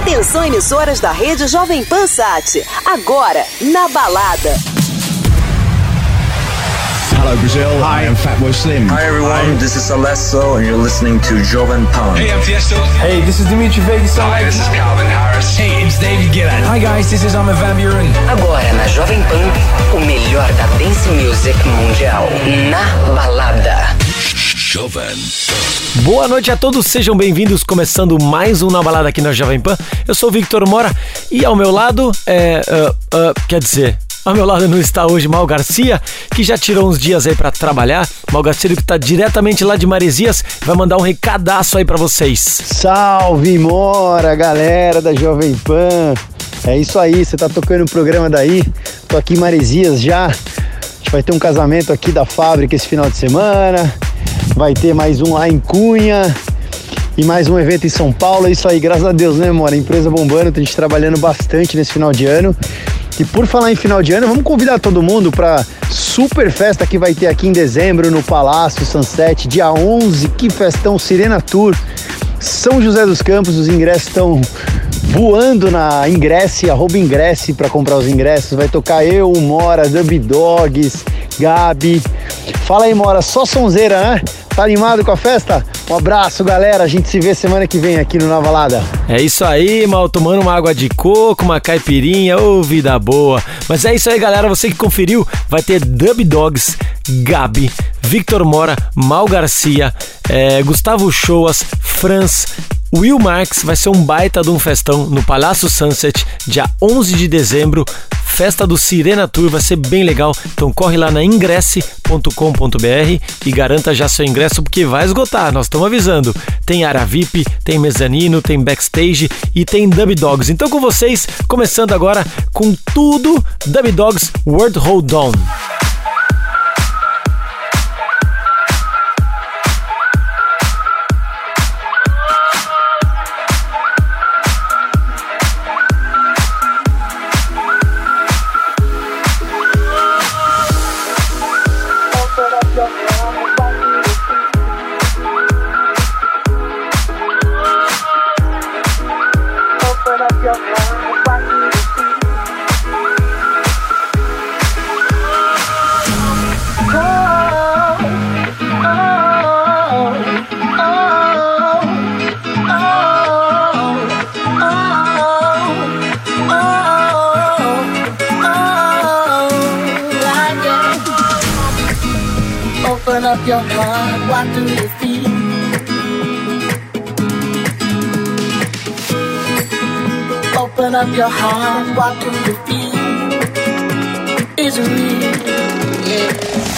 Atenção, emissoras da rede Jovem Pan Sat. Agora, na balada. Hello Brazil, hi, I'm Fatboy Slim. Hi everyone, this is Alesso and you're listening to Jovem Pan. Hey, I'm Tiesto. Hey, this is Dimitri Vegas. Hi, this is Calvin Harris. Hey, it's David Guetta. Hi guys, this is Armin van Buuren. Agora na Jovem Pan, o melhor da dance music mundial. Na balada. Jovem. Boa noite a todos, sejam bem-vindos, começando mais um Na Balada aqui na Jovem Pan. Eu sou o Victor Mora e ao meu lado, ao meu lado não está hoje Mal Garcia, que já tirou uns dias aí pra trabalhar. Mal Garcia, que tá diretamente lá de Maresias, vai mandar um recadaço aí pra vocês. Salve Mora, galera da Jovem Pan. É isso aí, você tá tocando o programa daí. Tô aqui em Maresias já. A gente vai ter um casamento aqui da fábrica esse final de semana. Vai ter mais um lá em Cunha e mais um evento em São Paulo. É isso aí, graças a Deus, né, Mora? Empresa bombando, tem gente trabalhando bastante nesse final de ano. E por falar em final de ano, vamos convidar todo mundo para super festa que vai ter aqui em dezembro no Palácio Sunset, dia 11, que festão, Sirena Tour, São José dos Campos. Os ingressos estão voando na Ingresse, @Ingresse para comprar os ingressos. Vai tocar eu, Mora, Dub Dogs, Gabi. Fala aí, Mora, só sonzeira, né? Tá animado com a festa? Um abraço, galera. A gente se vê semana que vem aqui no Na Balada. É isso aí, Mal, tomando uma água de coco, uma caipirinha, ô, vida boa. Mas é isso aí, galera, você que conferiu, vai ter Dub Dogs, Gabi, Victor Mora, Mal Garcia, Gustavo Shoas, Franz, Will Marx. Vai ser um baita de um festão no Palácio Sunset, dia 11 de dezembro, festa do Sirena Tour, vai ser bem legal. Então corre lá na ingresse.com.br e garanta já seu ingresso, porque vai esgotar, nós estamos avisando. Tem área VIP, tem mezanino, tem backstage e tem Dub Dogs. Então com vocês, começando agora com tudo, Dub Dogs World Hold On. Open up your heart, what do you feel? Open up your heart, what do you feel? Is it real? Yeah.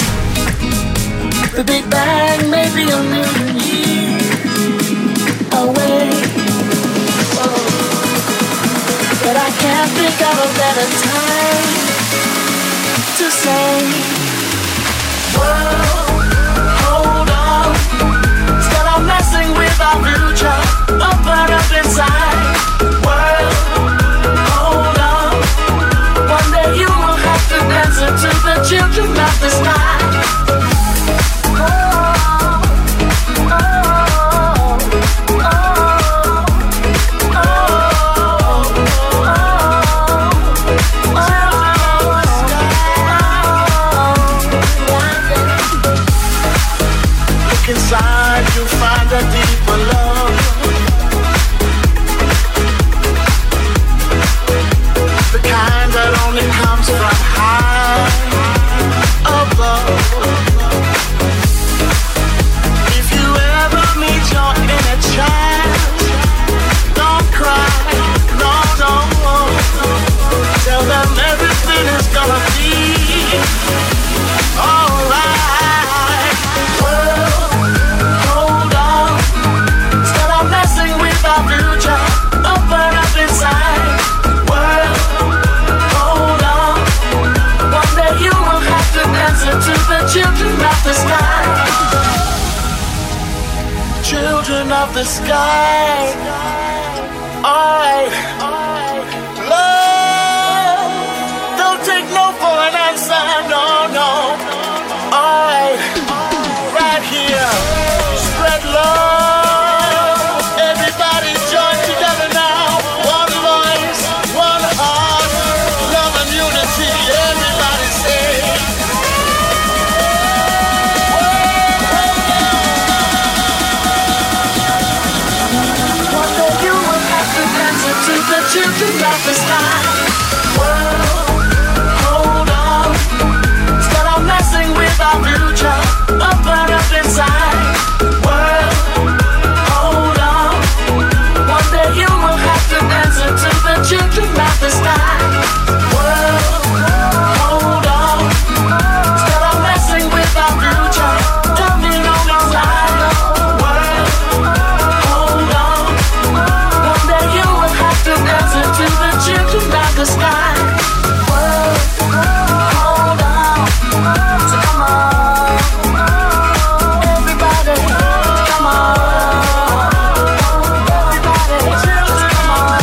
The Big Bang may be a million years away, but I can't think of a better time to say, world, hold on. Stop messing with our future. Open up inside. World, hold on. One day you will have to answer to the children of the sky. Inside you'll find a deeper love, the kind that only comes from high above. If you ever meet your inner child, don't cry, no. Tell them everything is gonna be alright. Future, open up inside. World, hold on. One day you will have to answer to the children of the sky. Children of the sky. Alright. Love, don't take no for an answer. No. Alright. Right here. Spread love. Everybody join together now. One children of the sky. World, hold on. Stop messing with our future. Open up inside. World, hold on. One day you will have to answer to the children of the sky. World, hold on. Stop messing with our future. Tell me no inside. World, hold on. One day you will have to answer to the children of the sky. World, hold on. So come on, everybody, come on, everybody, just come on.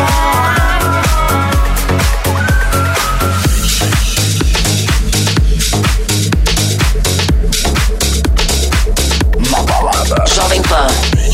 Jovem Pan.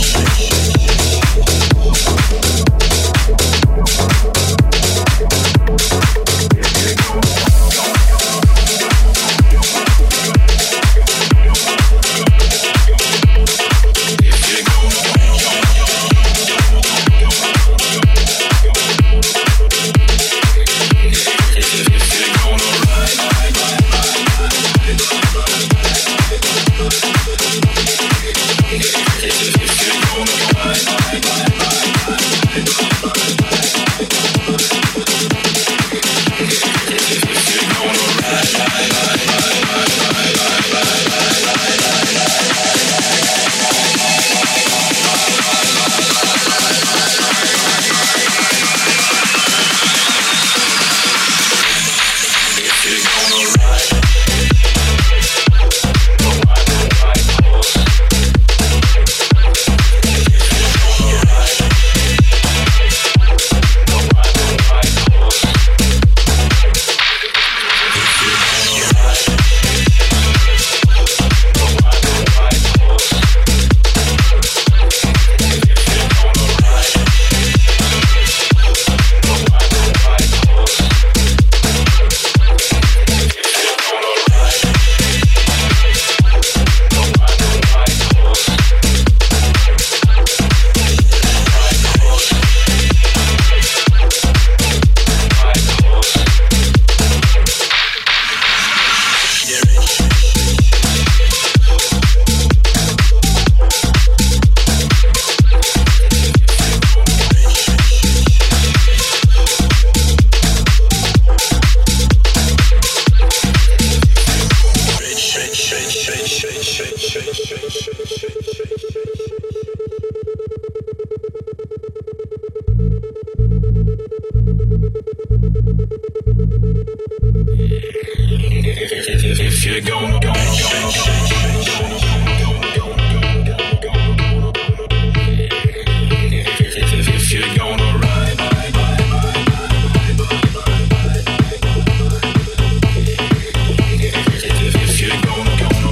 If you're gonna go, if you're gonna ride, if you're gonna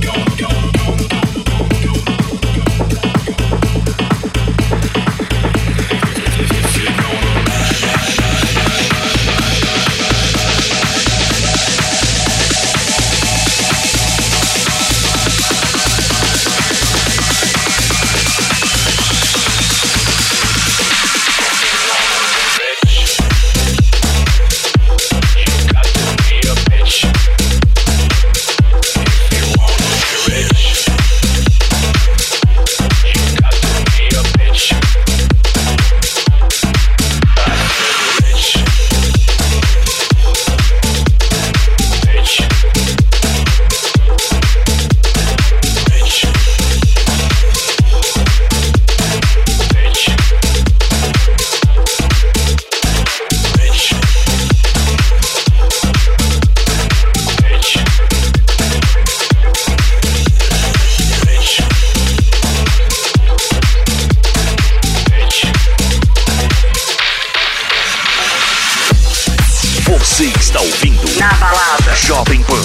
Você está ouvindo Na Balada Jovem Pan.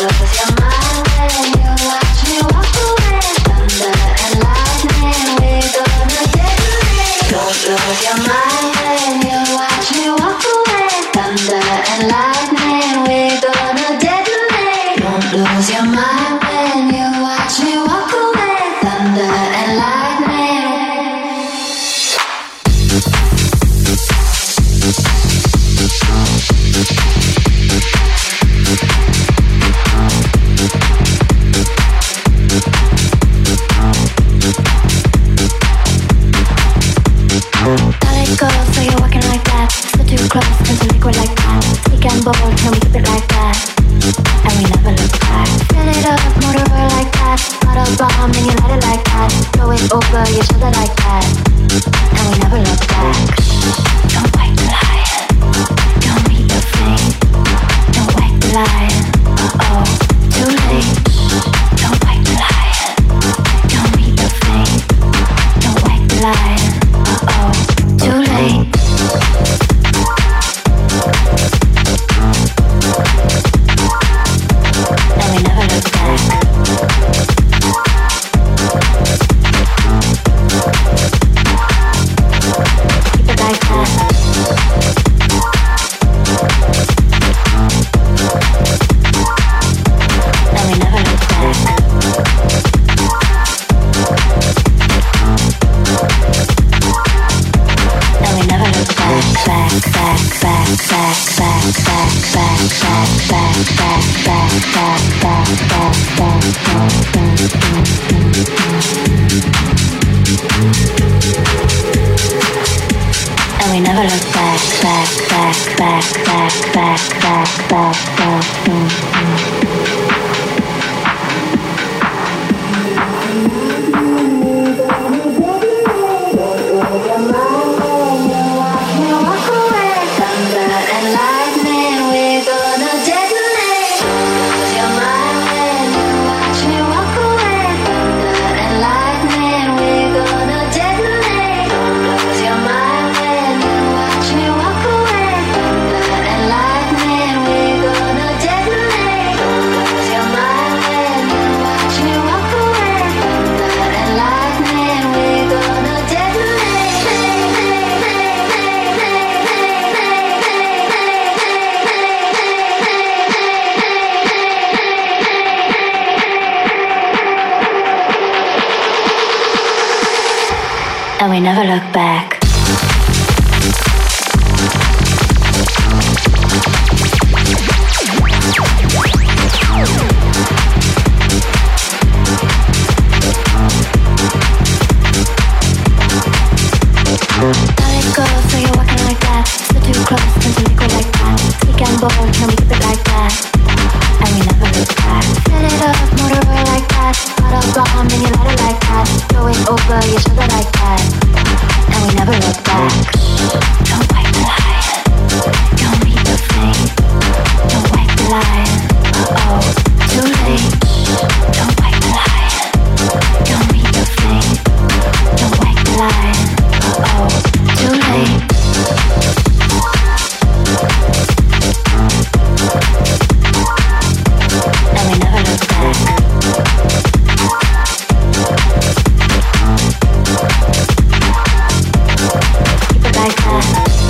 Thunder and lightning, we're we never look back, back, back, back, back, back, back, back, back. And we never look back. So you're walking like that. So too close, turn to liquid like that. Speak and bold, can we keep it like that? And we never look back. Fill it up, motor oil like that. Bottle bomb, and you light it like that. Throw it over your shoulder like that. And we never look back. Don't wipe the line. Don't meet the flame. Don't wipe the line. Uh-oh, too late. Don't wipe the line. Don't meet the flame. Don't wipe the line. Uh-oh, too late. And we never look back. Keep it like that.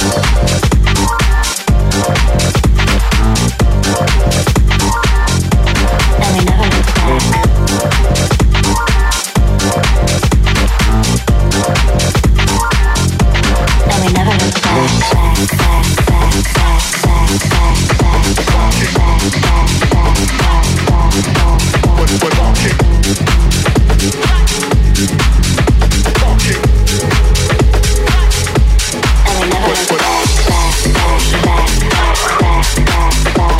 And we never look back. And we never look back, back, back, back, back, back, back, back, back, back, back, back, back, back. And we never look back, back, back, back, back, back, back,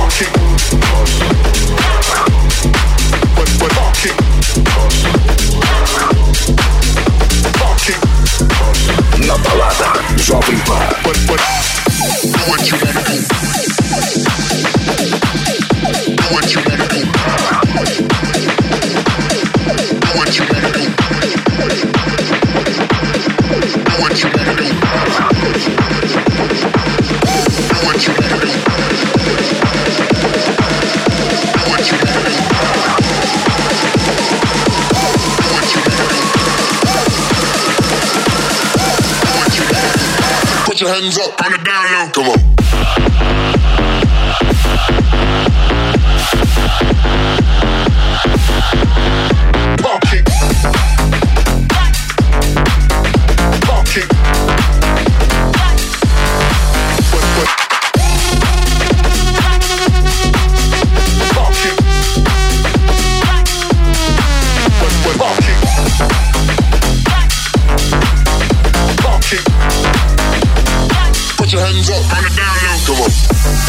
Na balada Jovem Pan. What you gotta do? What you gotta do? What you gotta do? What you gotta do? What you gotta do? What you gotta do? Put your hands up on the down low. Come on. Pop it. Pop it. Pop it. Put your hands up on the down low. Come on.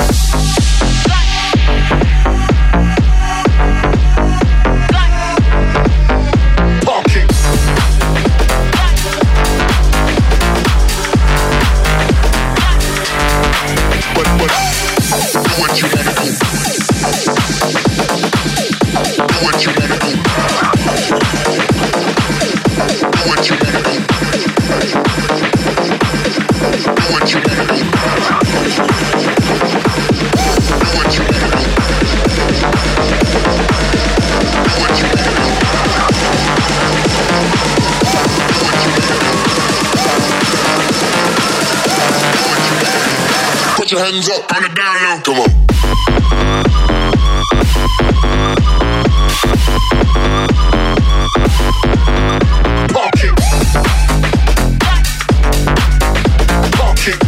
Pop it. What you gotta do? What you gotta do? What you gotta do? What you gotta do? What you gotta do? What you gotta do? Put your hands up on the down low. Come on. Pop it. Pop it.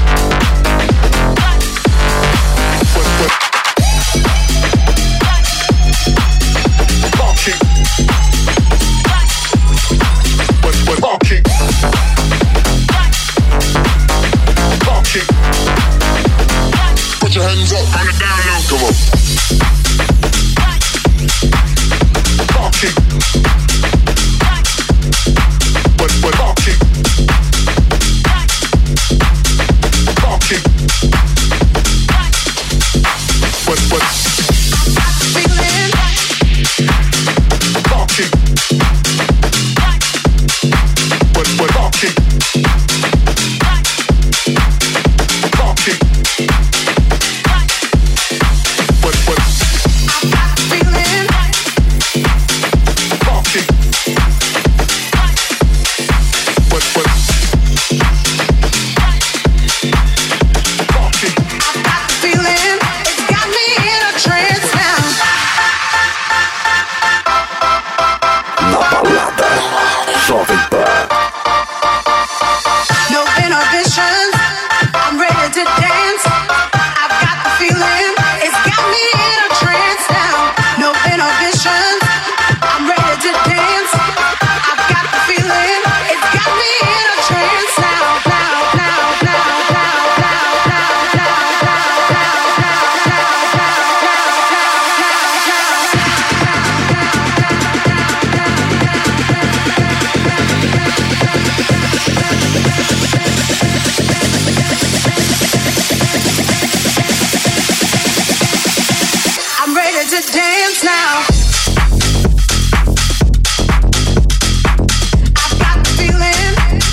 your hands up on the down low. Come on. Parking. What parking? Parking. What feeling? Parking. What parking? Parking. What feeling? Parking. What parking? I got the feeling. It's got me in a trance now. Na balada Jovem Pan. No inhibitions. I'm ready to dance. I've got the feeling. It's got me in a trance now. No inhibitions. I'm ready to dance. I've got the feeling. It's got me in a trance now. I'm ready to dance now. I've got the feeling.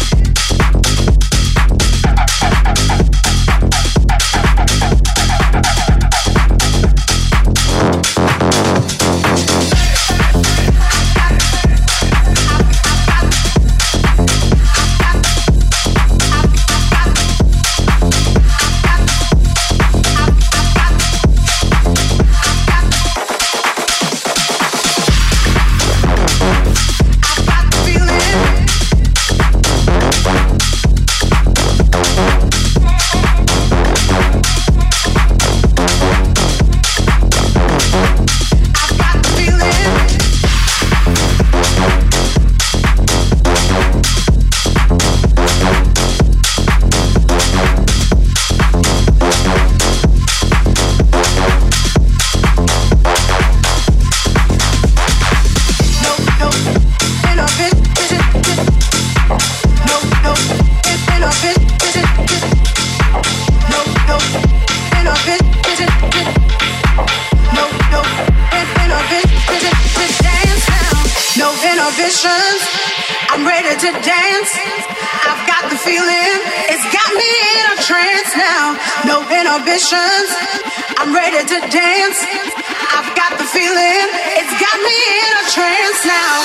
I'm ready to dance. I've got the feeling. It's got me in a trance now. No inhibitions. I'm ready to dance. I've got the feeling. It's got me in a trance now.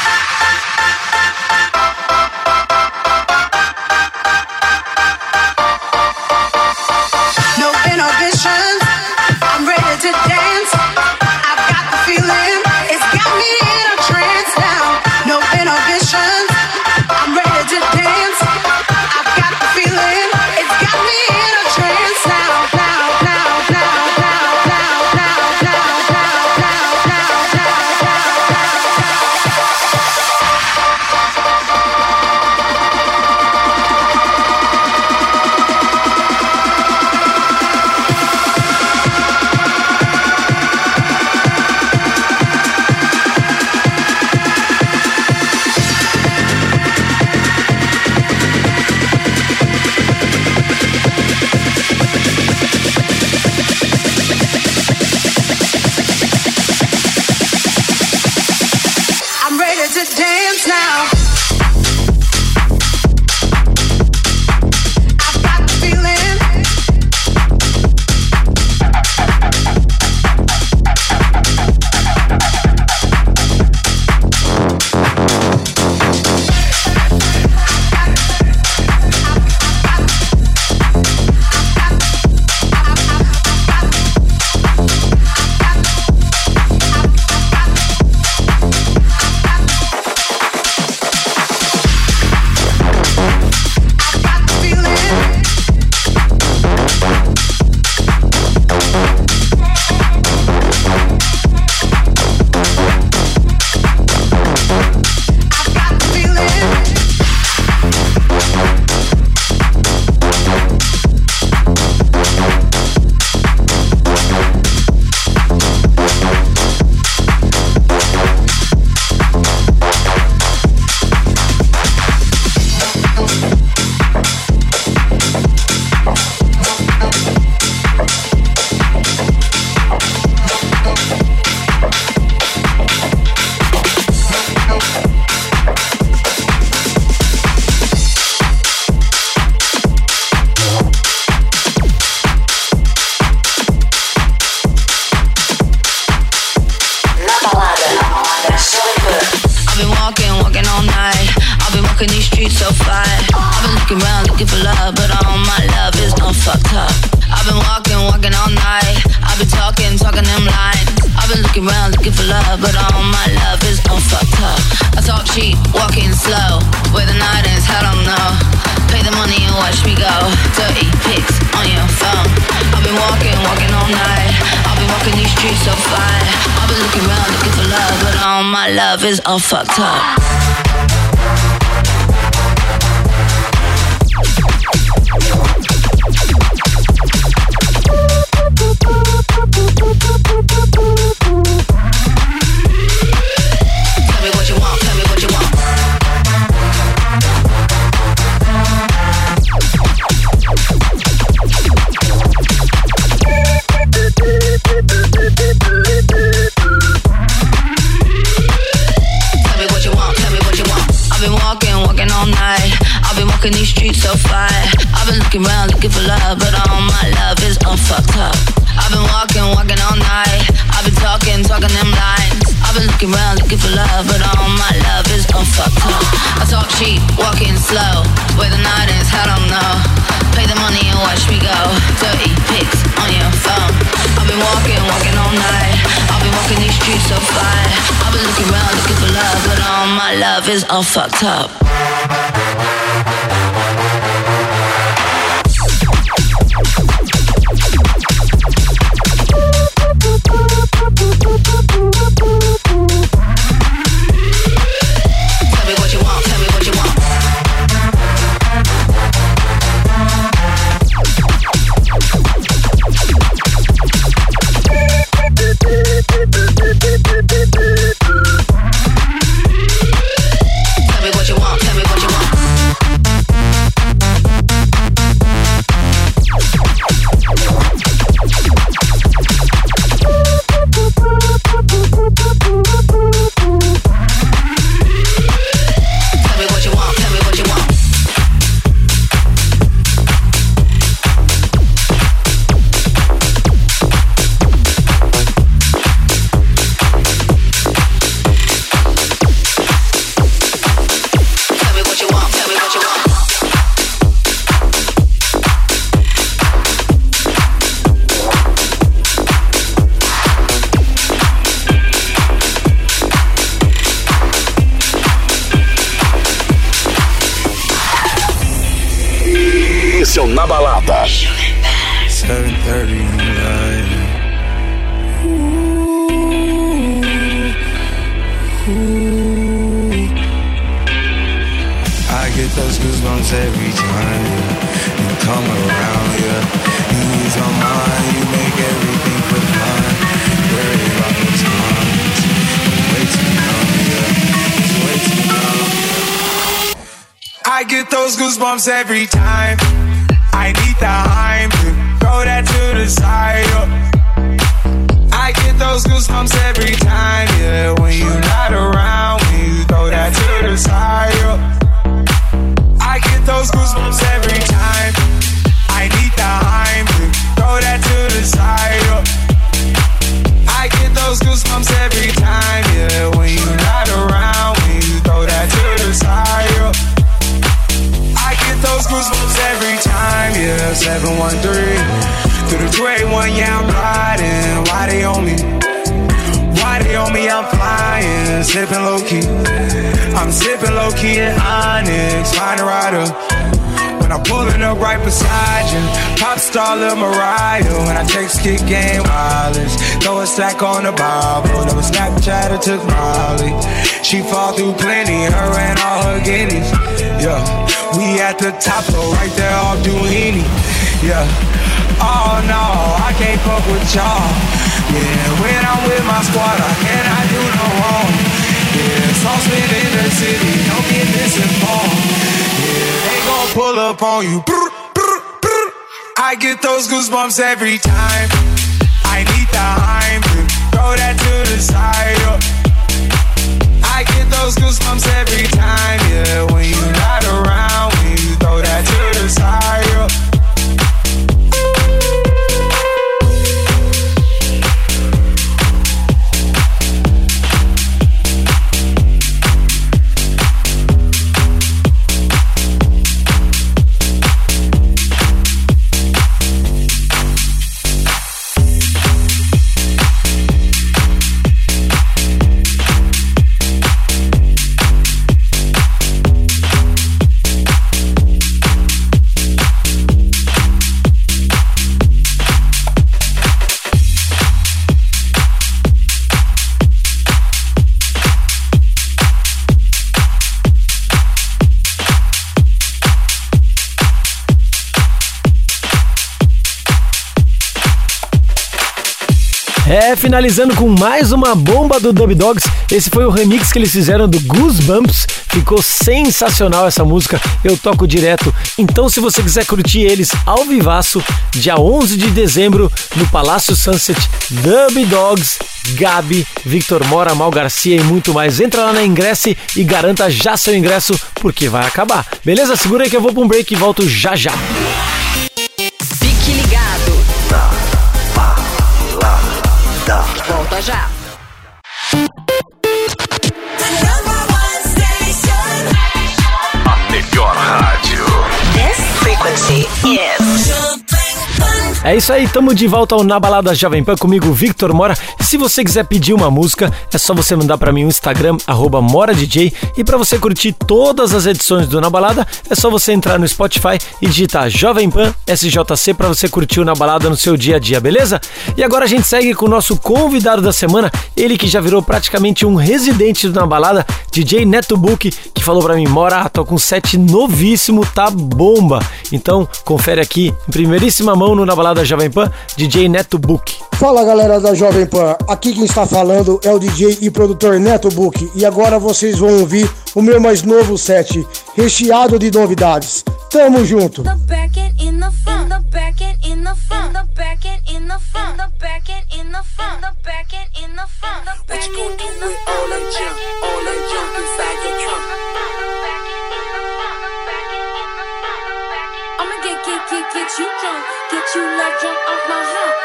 No inhibitions. I'm ready to dance. I've got the feeling. It's got me in a trance now. No inhibitions. I'm ready to dance. I've got the feeling. It's got me in a trance now. walking these streets so far. I've been looking around looking for love, but all my love is all fucked up. I've been walking all night. I've been talking them lines. I've been looking around looking for love, but all my love is all fucked up. I talk cheap, walking slow. Where the night is, I don't know. Pay the money and watch me go. Dirty pics on your phone. I've been walking all night. I've been walking these streets so fine. I've been looking around looking for love, but all my love is all fucked up. Tell me what you want, tell me what you want. Tell me what you want, tell me what you want. I've been walking all night. I've been walking these streets so fine. I've been looking around looking for love, but all my love is all fucked up. I've been walking all night. I've been talking them lines. I've been looking around looking for love, but all my love is all fucked up. I talk cheap, walking slow. Where the night is, I don't know. Pay the money and watch me go. Dirty pics on your phone. I've been walking all night. I've been walking these streets so fine. I've been looking around looking for love, but all my love is all fucked up. Tell me what you want, tell me what you want. Tell me what you want, tell me what you want. Esse é o Na Balada. 7:30 in the night. I get those goosebumps every time you come around, yeah. You ease my mind, you make everything feel fine. Worry about those times, I'm way too numb, yeah. It's way too numb, yeah. I get those goosebumps every time. I need the Heimlich, throw that to the side, I get those goosebumps every time, yeah. When you're not around, when you throw that to the side, I get those goosebumps every time. I need the Heimlich, throw that to the side, I get those goosebumps every time, yeah. When you're not around, when you throw that to the side, I get those goosebumps every time, yeah. 713 through the 281, yeah, I'm riding. Why they on me? Why they on me? I'm flying, sipping low key. I'm sipping low key in Onyx, find a rider. When I'm pulling up right beside you, pop star Lil Mariah. When I text kick game wireless, throw a stack on the Bible. Never Snapchat or took Molly. She fall through plenty, her and all her guineas. Yeah, we at the top, so right there off Duini. Yeah, oh no, I can't fuck with y'all. Yeah, when I'm with my squad, I cannot do no wrong. Yeah, saucepan in the city, don't get misinformed. Yeah, they gon' pull up on you. Brr, brr, brr. I get those goosebumps every time. I need the Heimlich, throw that to the side. I get those goosebumps every time, yeah. When you're not around, when you throw that to the side. Finalizando com mais uma bomba do Dub Dogs. Esse foi o remix que eles fizeram do Goosebumps. Ficou sensacional essa música, eu toco direto. Então se você quiser curtir eles ao vivaço, dia 11 de dezembro no Palácio Sunset, Dub Dogs, Gabi, Victor Mora, Mal Garcia e muito mais. Entra lá na Ingresse e garanta já seu ingresso, porque vai acabar. Beleza? Segura aí que eu vou pra um break e volto já já. Fique ligado. Volta já. A melhor rádio. This frequency is É isso aí, tamo de volta ao Na Balada Jovem Pan comigo, Victor Mora. E se você quiser pedir uma música, é só você mandar pra mim o Instagram, @MoraDJ. E pra você curtir todas as edições do Na Balada, é só você entrar no Spotify e digitar Jovem Pan SJC pra você curtir o Na Balada no seu dia a dia, beleza? E agora a gente segue com o nosso convidado da semana, ele que já virou praticamente um residente do Na Balada, DJ Neto Book, que falou pra mim: Mora, tô com um set novíssimo, tá bomba. Então, confere aqui, em primeiríssima mão no Na Balada da Jovem Pan, DJ Neto Book. Fala galera da Jovem Pan, aqui quem está falando é o DJ e produtor Neto Book e agora vocês vão ouvir o meu mais novo set, recheado de novidades. Tamo junto! Get you drunk, get you love drunk off my hump.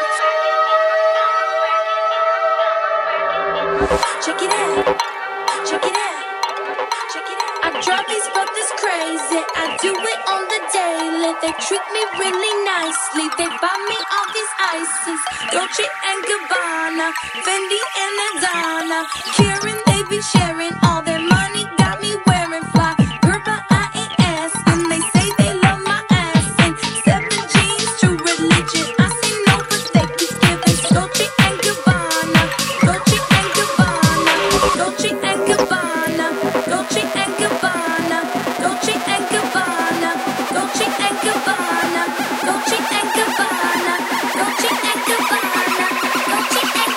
Check it out, check it out, check it out. I drive these brothers crazy, I do it on the daily. They treat me really nicely, they buy me all these ices. Dolce and Gabbana, Fendi and Adana. Karen, they be sharing all their money, got me wearing fly. Girl, but I ain't asking, they say they love my ass. And 7 G's, true religion, I say no, but they keep giving. Dolce and Gabbana, Dolce and Gabbana, Dolce and Gabbana, Dolce and Gabbana, Dolce and Gabbana, Dolce and Gabbana, Dolce and Gabbana, Dolce and Gabbana, Dolce and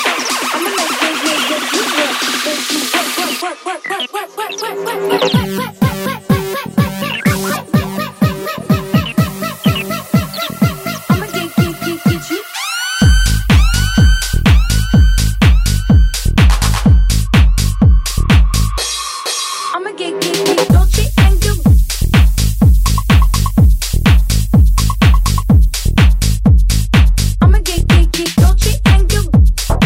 What? I'ma get Dolce and Gabbana. I'ma get Dolce and Gabbana.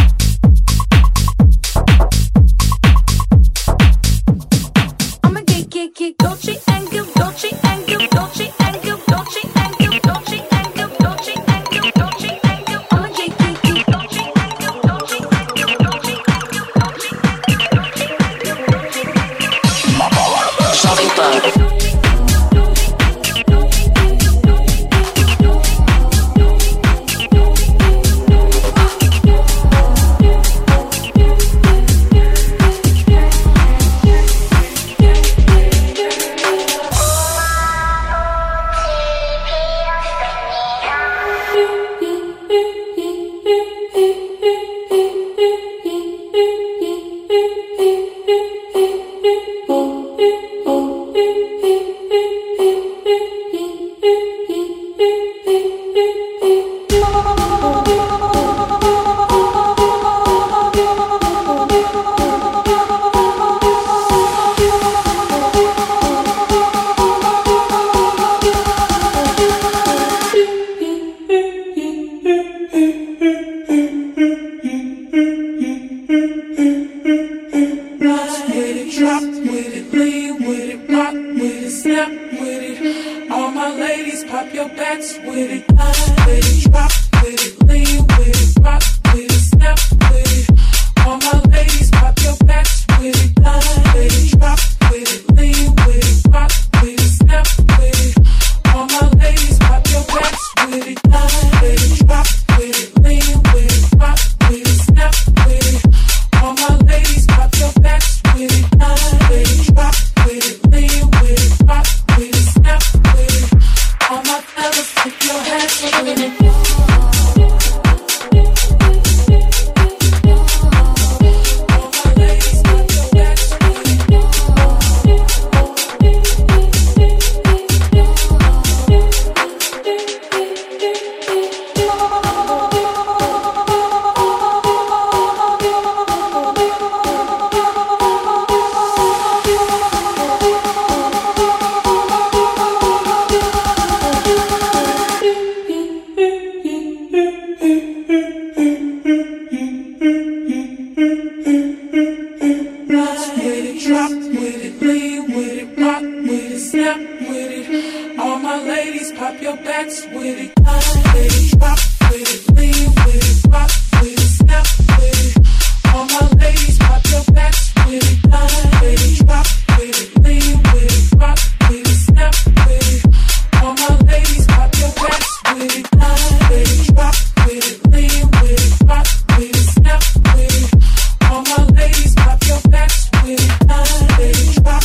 I'ma get Dolce and Gabbana. Dolce and Gabbana. Dolce and Gabbana. Dolce and Gabbana. Dolce and Gabbana. Dolce and Gabbana. Dolce and Gabbana. I'ma get Dolce and Gabbana. Dolce and Gabbana. Dolce and Gabbana. Jovem Pan.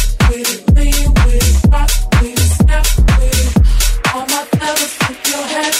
Your head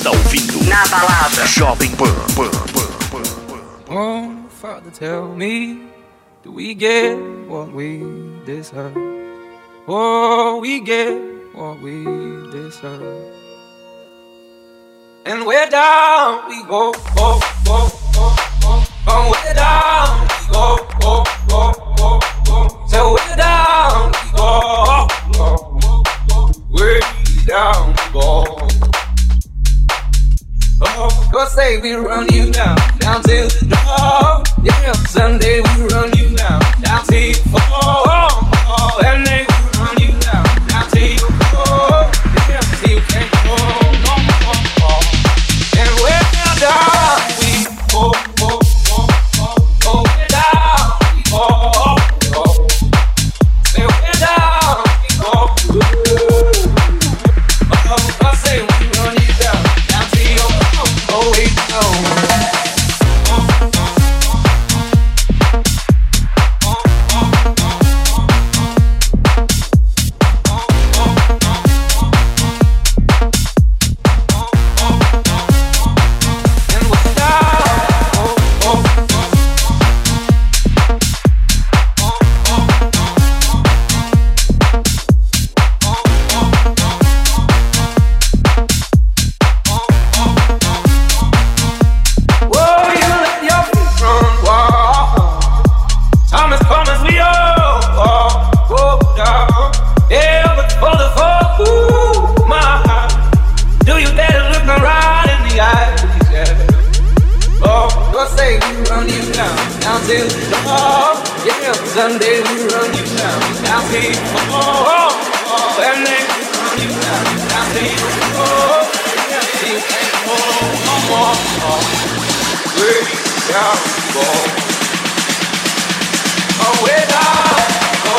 está ouvindo Na Balada Jovem Pan. Oh, Father, tell me, do we get what we deserve? Oh, we get what we deserve. And we're down, we go, go, go, go, go. Oh, we're down, we go, go, go, go, go. So we're down, we go, go, go, go. We're down, we go. Oh, go say we run you down till the door. Yeah, Sunday we run you down till you fall. Oh, and then we run you down till you fall. Yeah, till you can't go no more. And we're down, we go, go, go, go, go. We're down, we go, go. Say we're down, we go. Oh, I say we run you down till you fall. Oh, we go. Sunday we run you down till you fall. And then we run you down till you fall. Till you can't go no more. We're down, go. Oh, we're down, go.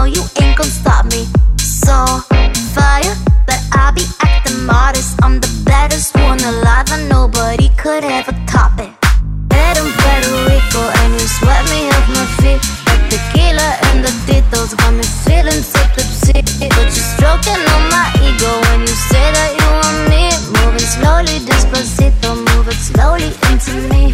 know you ain't gon' stop me. So fire, but I be acting modest. I'm the baddest one alive, and nobody could ever top it. Head in Puerto Rico, and you sweat me off my feet. Like tequila and the titos got me feeling so tipsy. But you're stroking on my ego when you say that you want me. Moving slowly, despacito, move it slowly into me.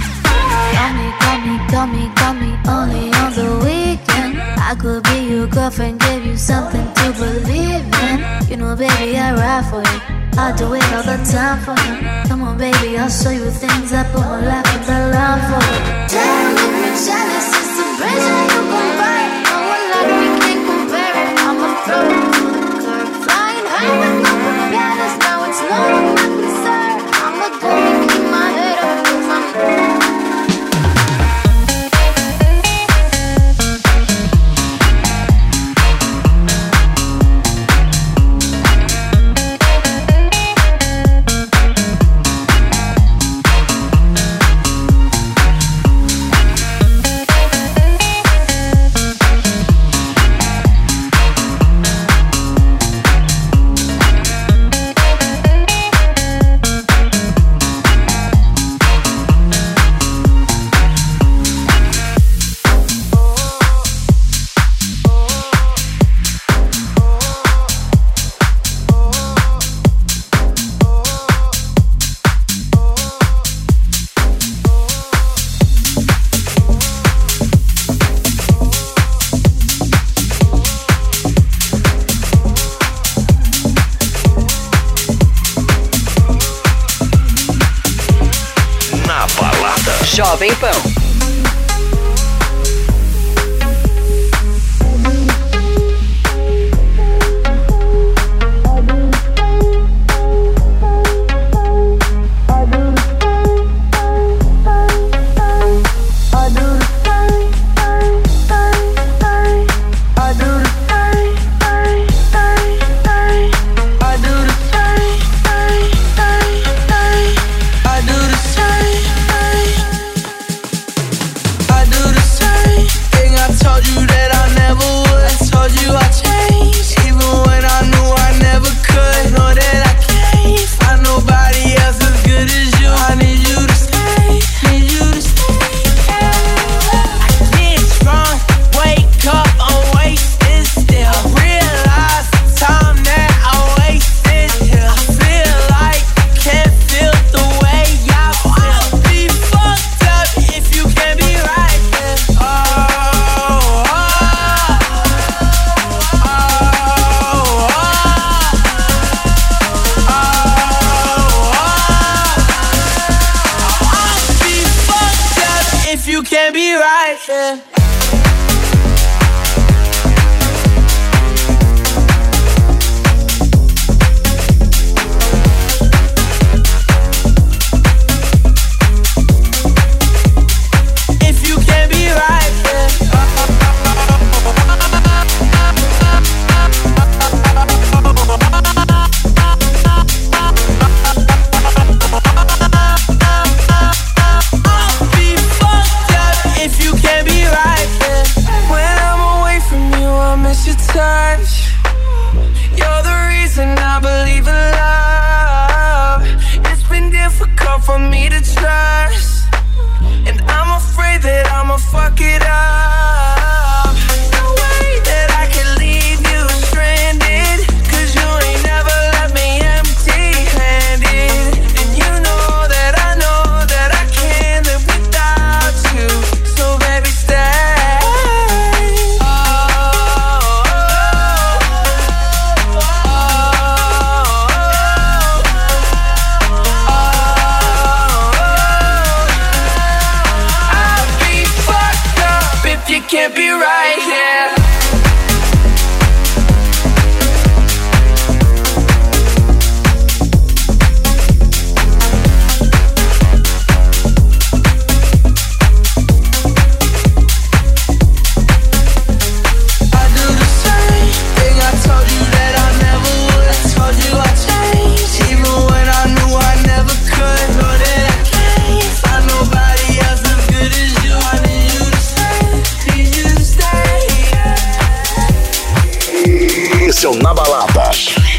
Got me, only on the weekend. I could be your girlfriend, give you something to believe in. You know, baby, I ride for you. I do it all the time for you. Come on, baby, I'll show you things. I put my life on the line for you. Damn, if you're jealous, it's the bridge that you gon' burn. No one like me can't compare it. I'm a throw to the curb, flying high with no propellers. Now it's none of my concern. I'm a dummy, keep my head up, 'cause I'm Jovem Pan. Esse é o Na Balada.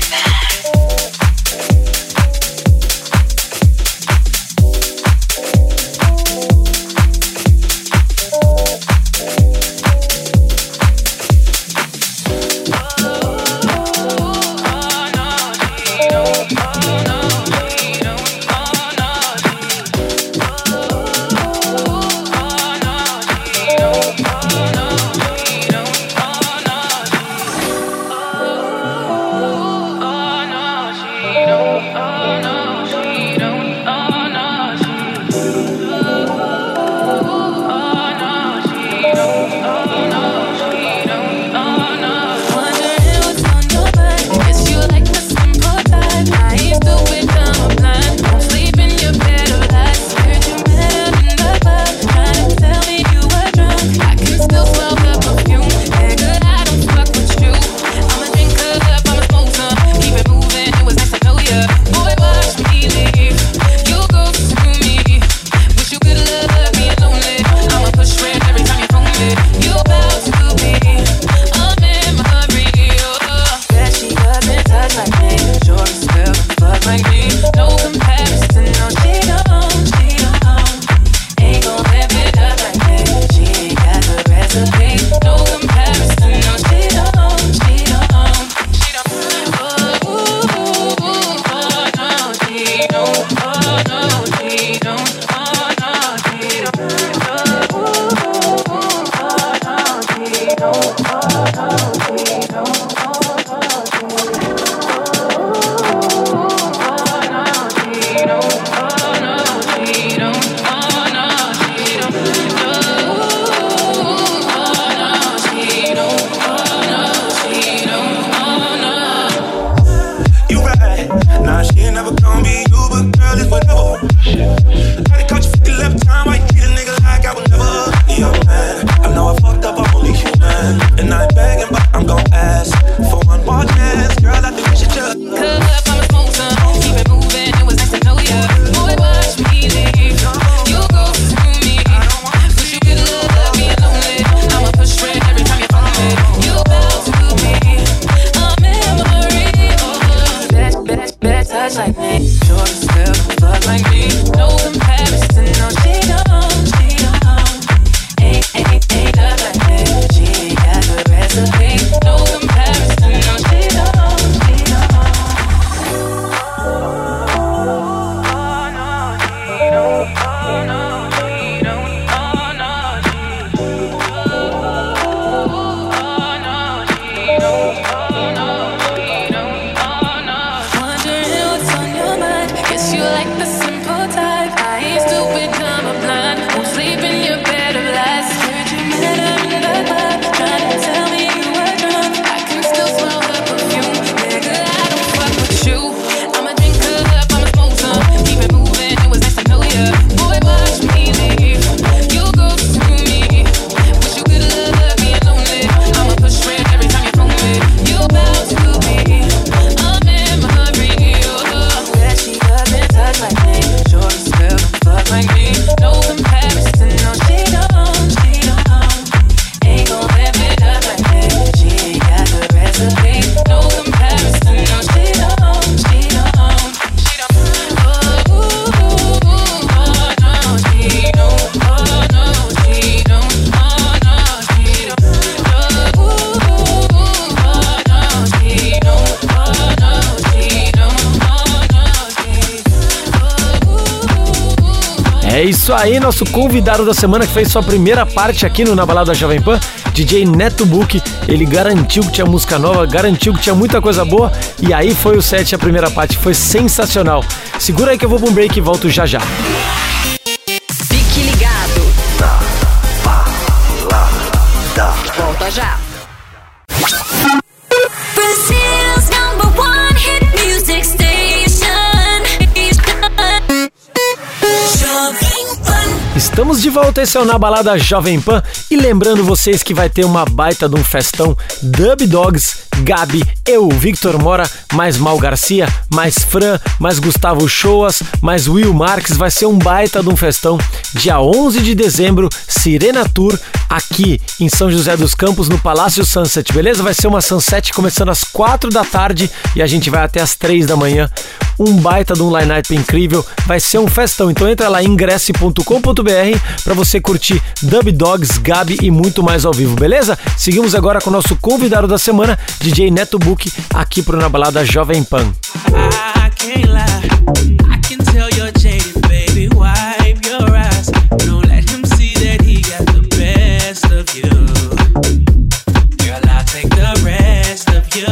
É isso aí, nosso convidado da semana que fez sua primeira parte aqui no Na Balada Jovem Pan, DJ Neto Book. Ele garantiu que tinha música nova, garantiu que tinha muita coisa boa, e aí foi o set, a primeira parte foi sensacional. Segura aí que eu vou pra um break e volto já já. Fique ligado. Na Balada. Volta já. Brazil's #1 hit music station. Estamos de volta, esse é o Na Balada Jovem Pan. E lembrando vocês que vai ter uma baita de um festão. Dub Dogs, Gabi, eu, Victor Mora, mais Mal Garcia, mais Fran, mais Gustavo Choas, mais Will Marques. Vai ser um baita de um festão. Dia 11 de dezembro, Sirena Tour, aqui em São José dos Campos, no Palácio Sunset, beleza? Vai ser uma Sunset começando às 4 da tarde e a gente vai até às 3 da manhã. Um baita de um line-up incrível, vai ser um festão. Então entra lá em ingresse.com.br para você curtir Dub Dogs, Gabi e muito mais ao vivo, beleza? Seguimos agora com o nosso convidado da semana, DJ Neto Book, aqui pro Na Balada Jovem Pan. I can't lie, I can tell you're jaded, baby, wipe your eyes. Don't let him see that he got the best of you. Girl, I'll take the rest of you.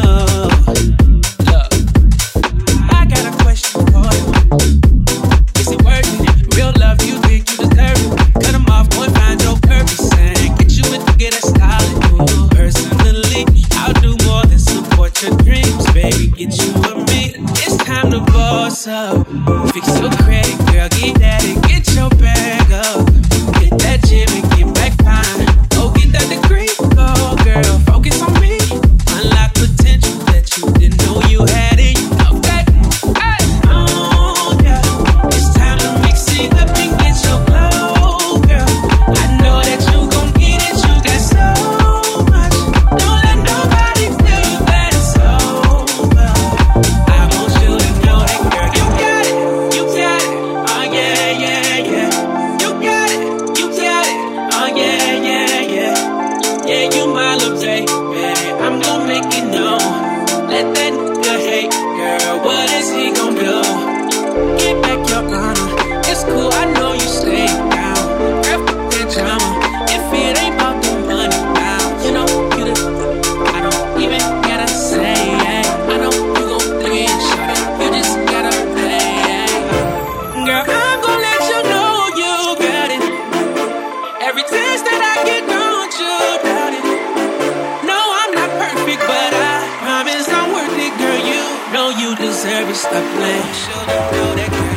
Look, I got a question for you. Is it worth it? Real love, you think you deserve it. Cut him off, boy, find your purpose and get you with the get a solid. Personally, I'll do more than support your dreams, baby, get you a me. It's time to boss up. Fix your credit, girl, get at it. Get your bag up. Hit that gym and get back fine. Go get that degree, go girl, focus on me. Unlock potential that you didn't know you had it. You know that. Hey. Oh yeah, it's time to mix it up and get your glow, girl. I know that you gon' get it. You got so much. Don't let nobody tell you that it's over. I want you to know that, girl, you got it, you got it. Oh yeah, yeah, yeah. You got it, you got it. Oh yeah, yeah, yeah. Yeah, you my little baby. I'm gon' make it known. Let that nigga hate, girl. What is he gon' do? Get back your honor. It's cool, I know you stay down. Girl, fuck that drama. If it ain't about the money now, you know you the. I don't even gotta say it. I know you gon' think it, shut it. You just gotta play it. Girl, I'm gon' let you know you got it. Every taste that I get, don't you doubt it. No, I'm not perfect, but I promise I'm worth it, girl. You know you deserve it. Stop playing. Should know that, girl.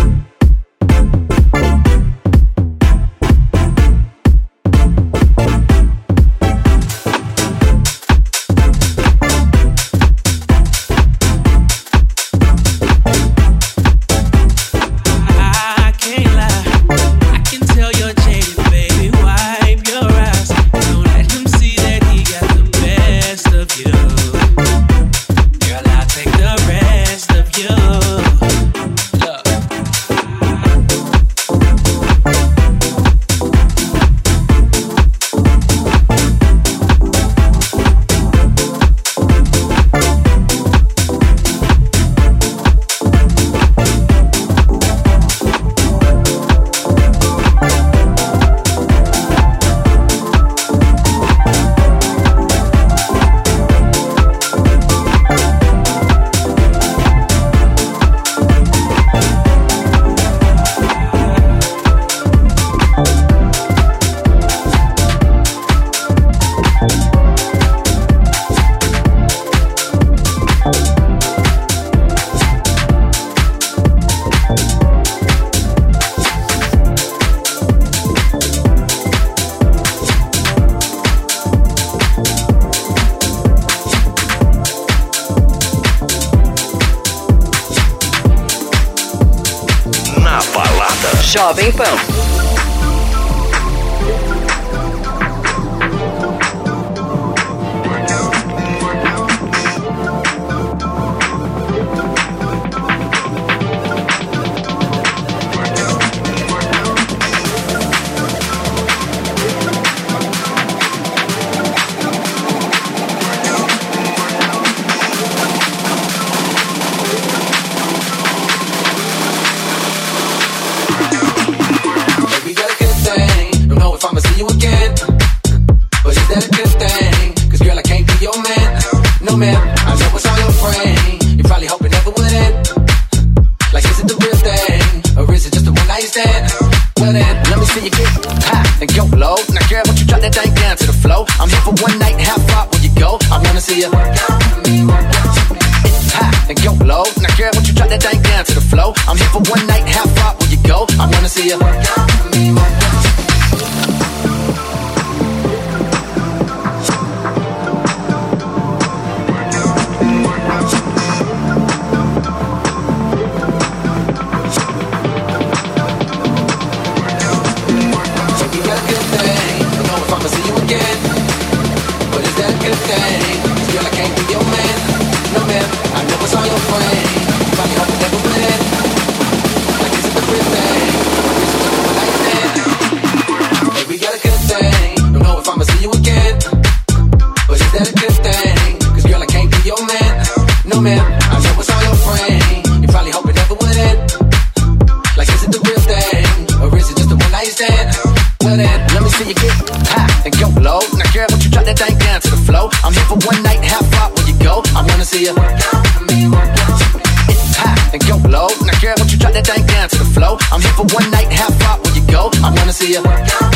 I can't lie, I can tell you're jaded, baby. Wipe your eyes. Don't let him see that he got the best of you. Girl, I'll take the rest of you. Look. Na Balada Jovem Pan. We got a good thing. Don't know if I'ma see you again, but is that a good thing? Cause girl, I can't be your man. No man, I know it's on your brain. You're probably hoping never would end. Like, is it the real thing? Or is it just a one night stand? Well then, let me see you get high and go low. Now girl, won't you drop that thing down to the floor? I'm here for one night, how far will you go? I wanna see you high and go low. Now girl, won't you drop that thing down to the floor? I'm here for one night, how far will you go? I wanna see you girl, I can't be your man. No man, I never saw your friend. Probably hope it never went. Like is it the real thing? Or is it just a one night stand? Hey, we got a good thing. Don't know if I'ma see you again, but is that a good thing? Cause girl, I can't be your man. No man, I never saw your friend. You probably hope it never would end. Like is it the real thing? Or is it just a one night stand? Well then, let me see you get high and go low. Now girl, won't you drop that thing down to the flow? I'm here for one night, how far will you go? I wanna see you it's high and go low. Now girl, won't you drop that thing down to the flow? I'm here for one night, how far will you go? I wanna see you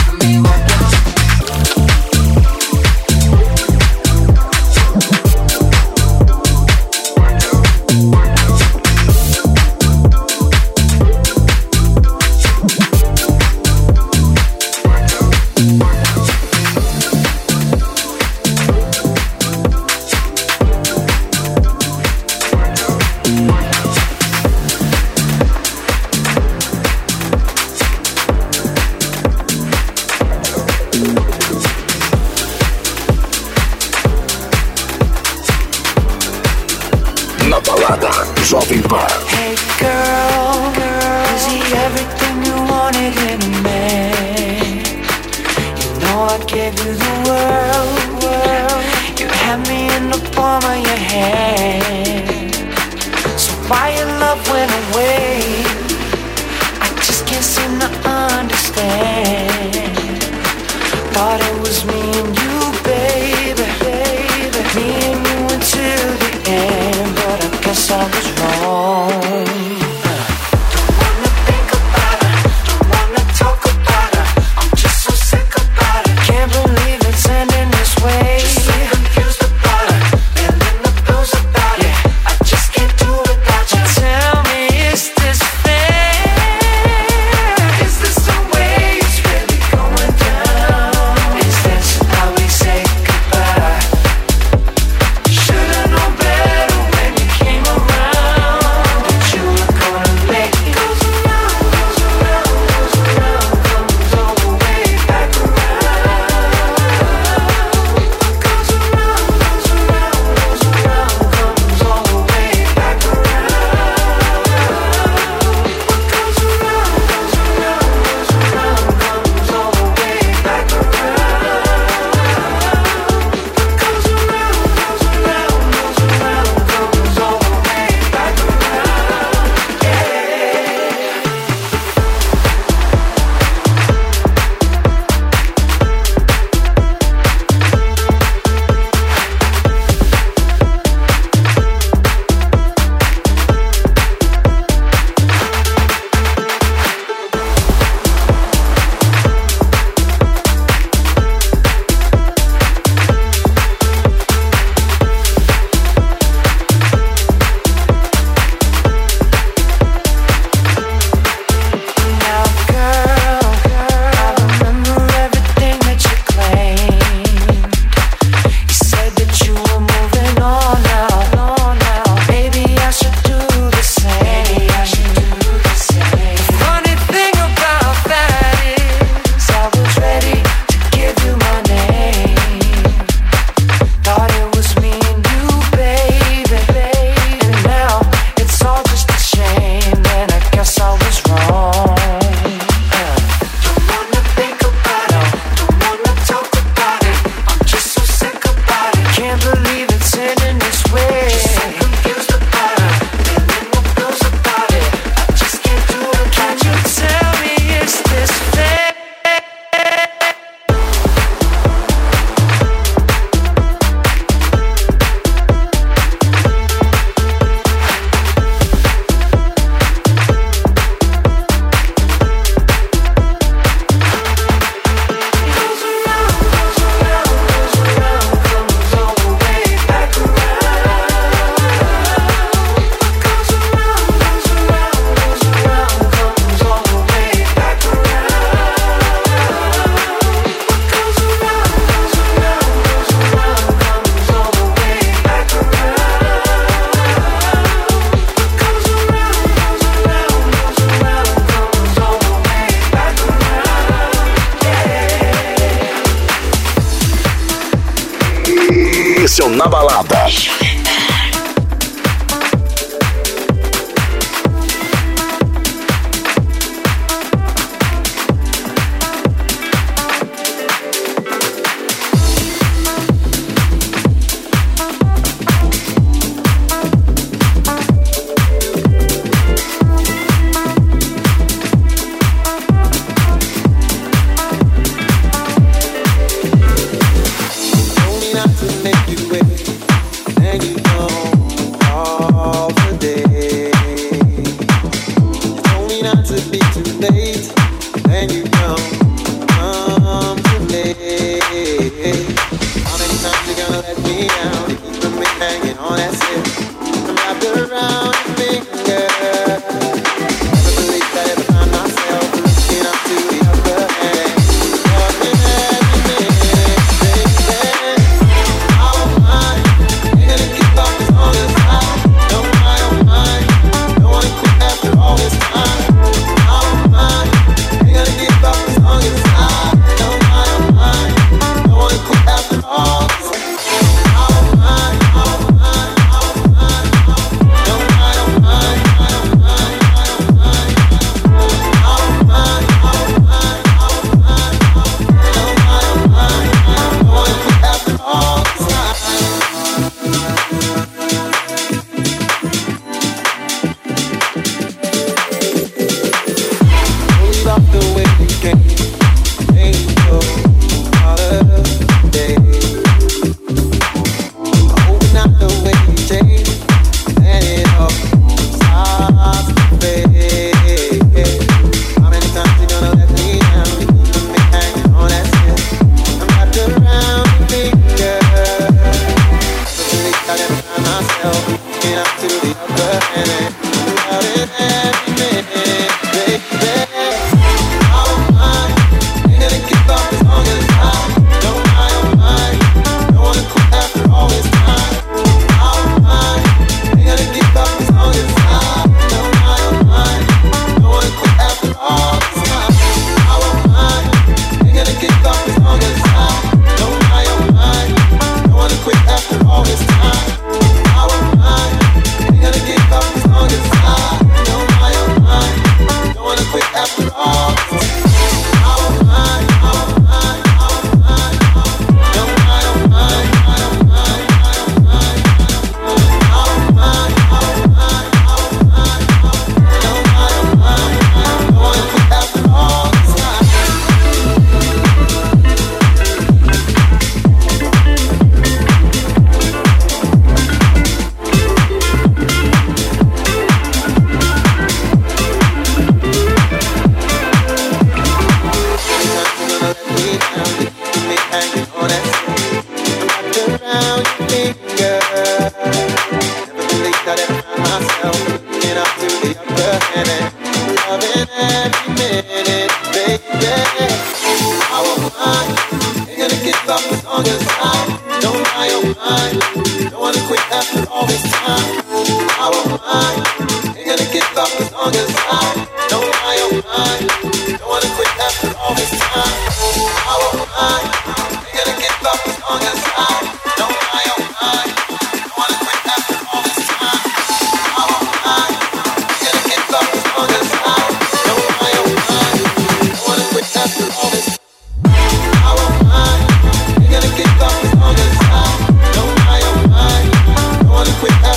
Na balada Jovem Pan. Hey girl, is he everything you wanted in a man? You know I gave you the world. You had me in the palm of your hand. So why your love went away? I just can't seem to understand. Thought it was me and you, baby. Me and you until the end, but I guess I was wrong. Don't wanna think about her, don't wanna talk about her. I'm just so sick about it. Can't believe it's ending this way. Just so confused about her, feeling the blues about it. I just can't do without you. Tell me, is this fair? Is this the way it's really going down? Is this how we say goodbye? Should've known better when you came around, that you were gonna make it. Goes around, goes around, goes around, comes all the way back around. Goes around, goes around, goes around, comes all the way back around. What goes around, goes around, goes around, comes all the way back around. What goes around, goes around, goes around, comes all the way back around. Now, girl, I remember everything that you claimed. You said that you were moving on now. Maybe I should do the same. The funny thing about that is I was ready to give you my name. Thought it was me and you, baby. And now it's all just a shame, and I guess I was wrong. Don't wanna think about it, don't wanna talk about it. I'm just so sick about it. Can't believe it's ending this way. Just so confused about it, feeling the blues about it. I just can't do it. Can't you tell me, is this fair? Goes around, goes around, goes around, comes all the way back around. na balada.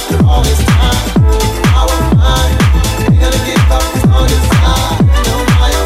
All this time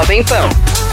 Jovem Pan.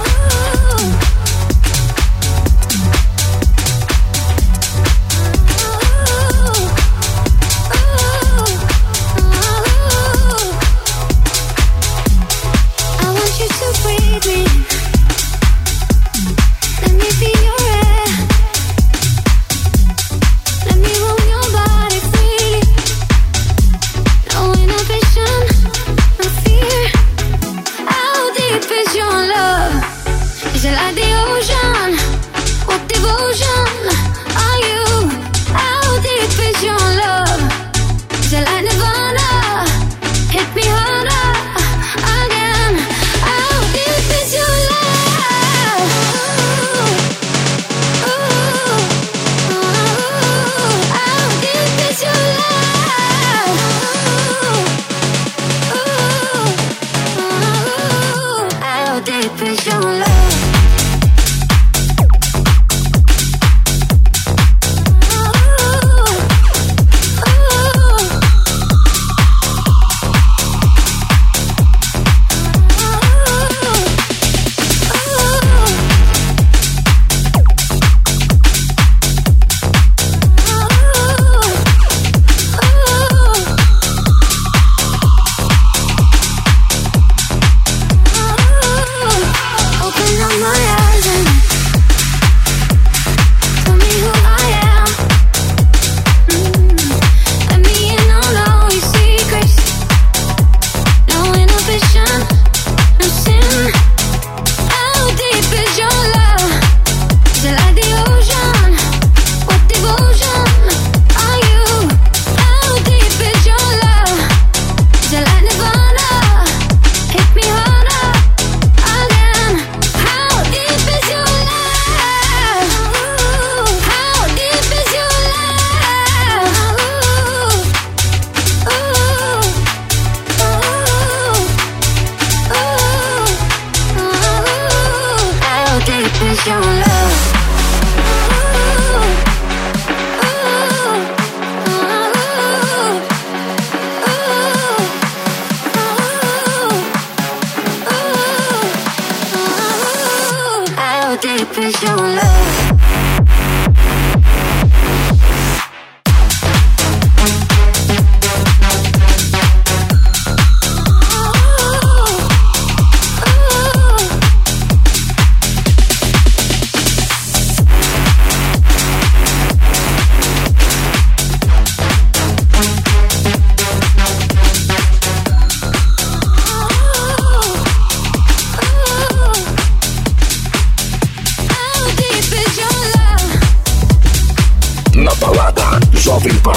Jovem Pan.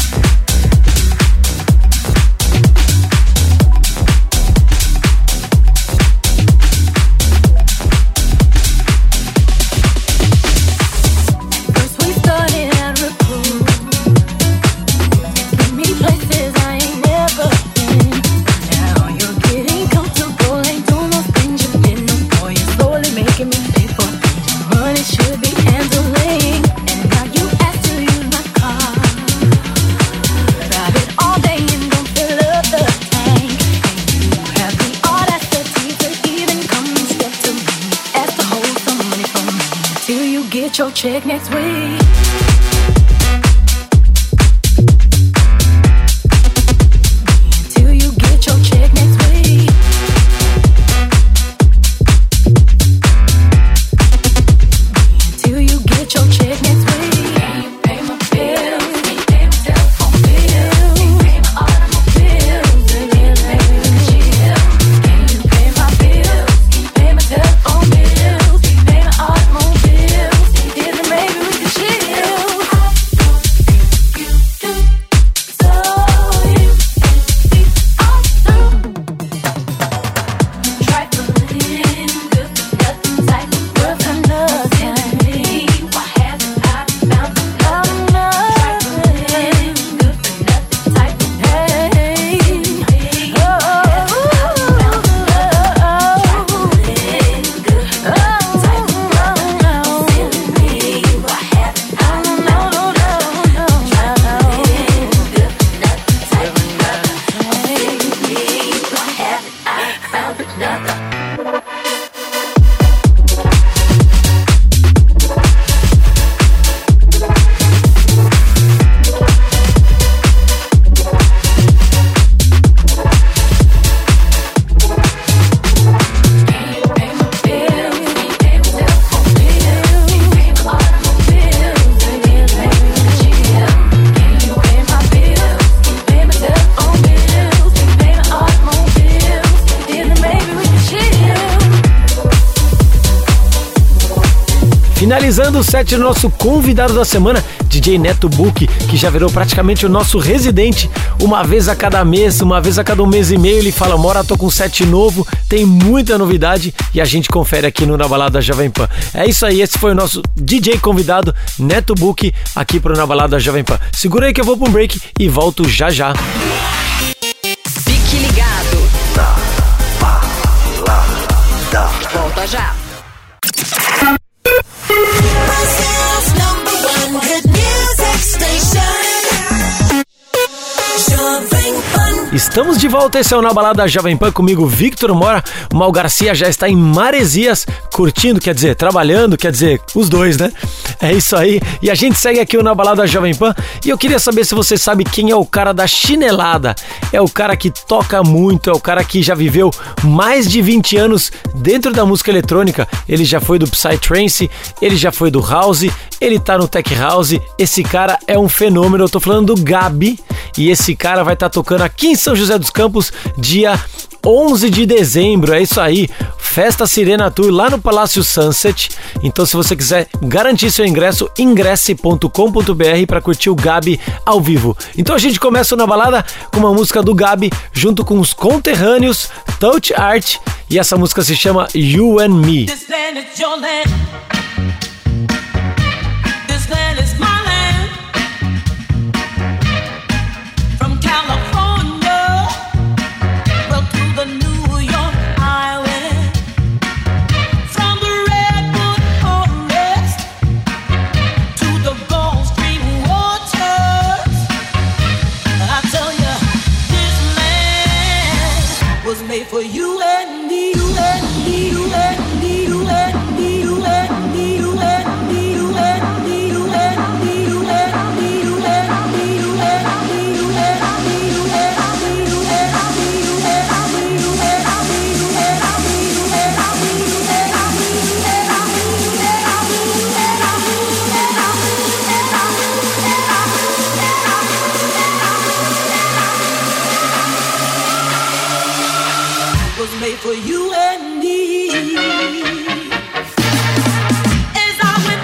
Your check next week. Till you get your check next week. Till you get your check next week. Can you pay my bills? Can you pay my telephone bills? Can you pay my automobile bills? Can you pay my chill? Can you pay my bills? Can you pay my telephone bills? Can you pay my automobile? Maybe we can chill. Finalizando o set do nosso convidado da semana, DJ Neto Book, que já virou praticamente o nosso residente. Uma vez a cada mês, uma vez a cada um mês e meio, ele fala: Mora, tô com set novo, tem muita novidade e a gente confere aqui no Na Balada Jovem Pan. É isso aí, esse foi o nosso DJ convidado, Neto Book, aqui pro Na Balada Jovem Pan. Segura aí que eu vou pra um break e volto já já. Fique ligado. Na Balada. Volta já. Estamos de volta, esse é o Na Balada Jovem Pan, comigo Victor Mora. O Mal Garcia já está em Maresias, curtindo, quer dizer, trabalhando, quer dizer, os dois, né? É isso aí, e a gente segue aqui o Na Balada Jovem Pan. E eu queria saber se você sabe quem é o cara da chinelada. É o cara que toca muito, é o cara que já viveu mais de 20 anos dentro da música eletrônica. Ele já foi do Psytrance, ele já foi do House, ele tá no Tech House. Esse cara é um fenômeno, eu tô falando do Gabi. E esse cara vai estar tocando aqui em São José dos Campos, dia 11 de dezembro, é isso aí, Festa Sirena Tour lá no Palácio Sunset. Então se você quiser garantir seu ingresso, ingresse.com.br para curtir o Gabi ao vivo. Então a gente começa Na Balada com uma música do Gabi junto com os conterrâneos Touch Art, e essa música se chama You and Me. This land is your land. This land is my land. From California, well, to the New York Highway. From the Redwood Forest to the Gulf Stream waters. I tell you, this land was made for you and me, you and me, you and me, you and me, you and me, you and me, you and me, you and me, you and me, you and me, you and me, you and me, you and me, you and me, you and me, you and me, you and me, you and me, you was made for you and me. As I went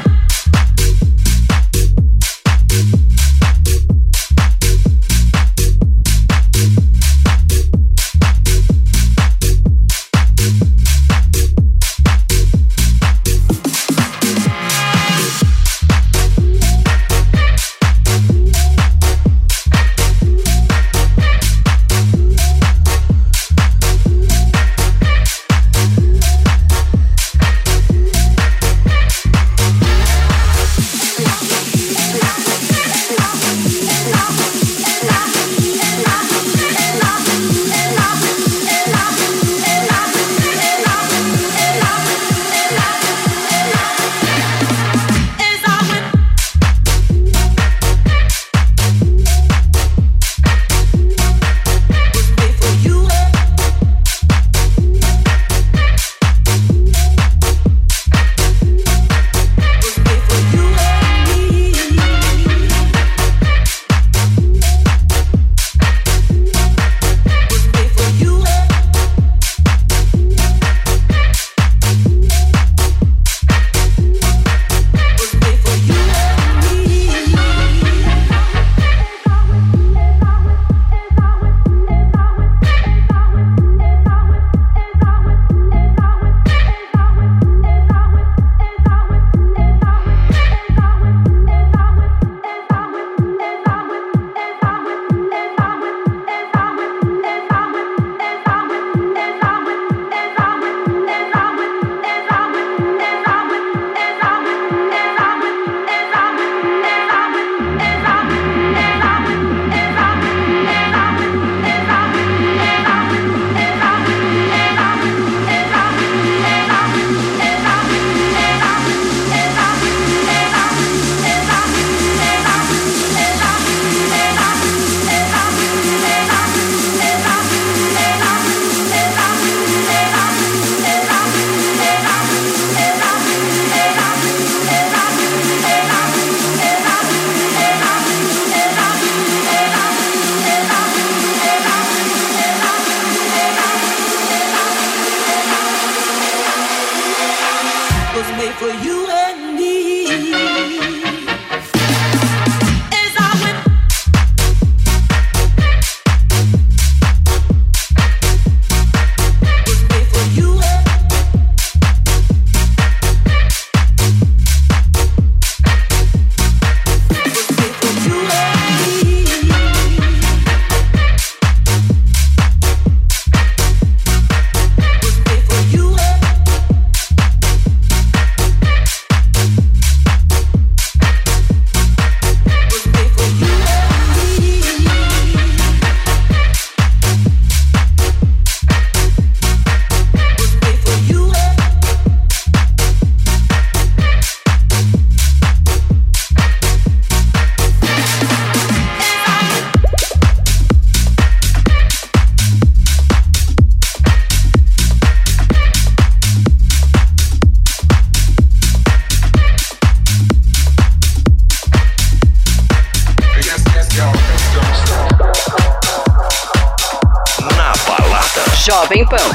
Jovem Pan.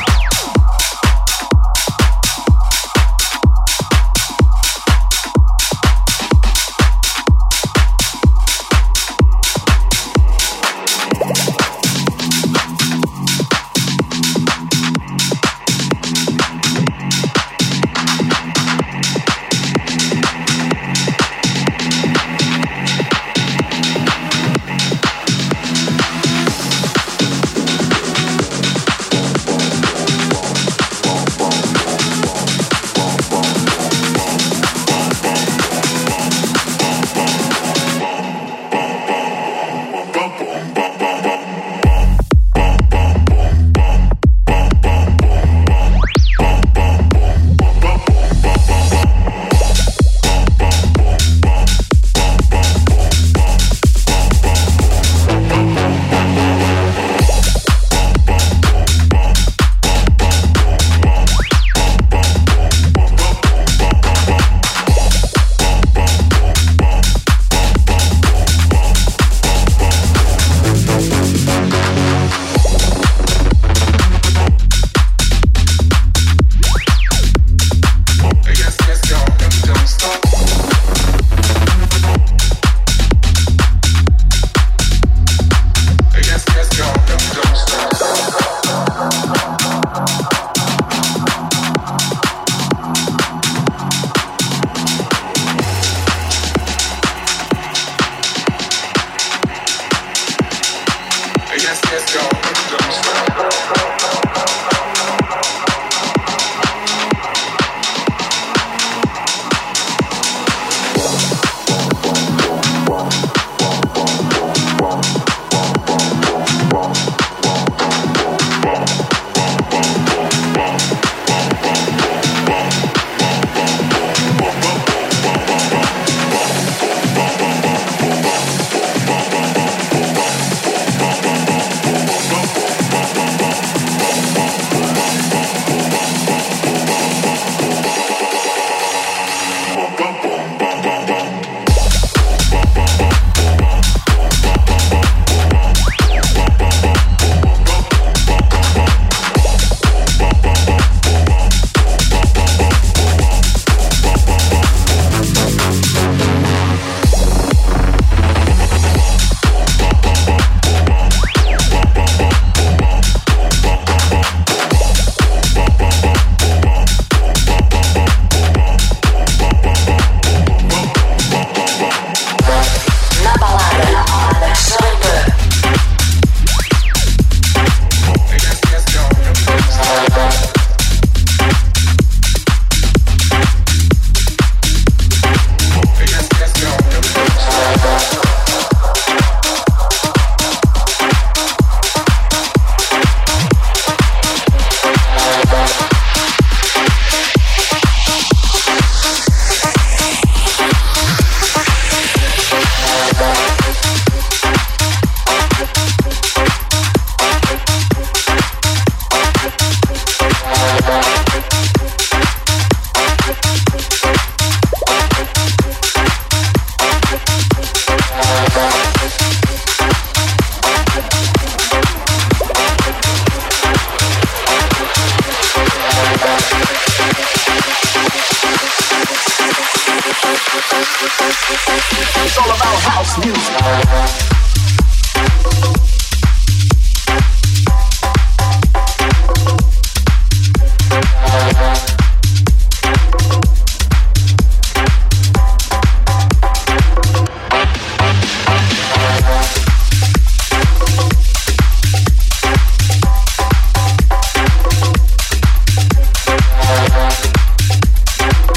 It's all about house music.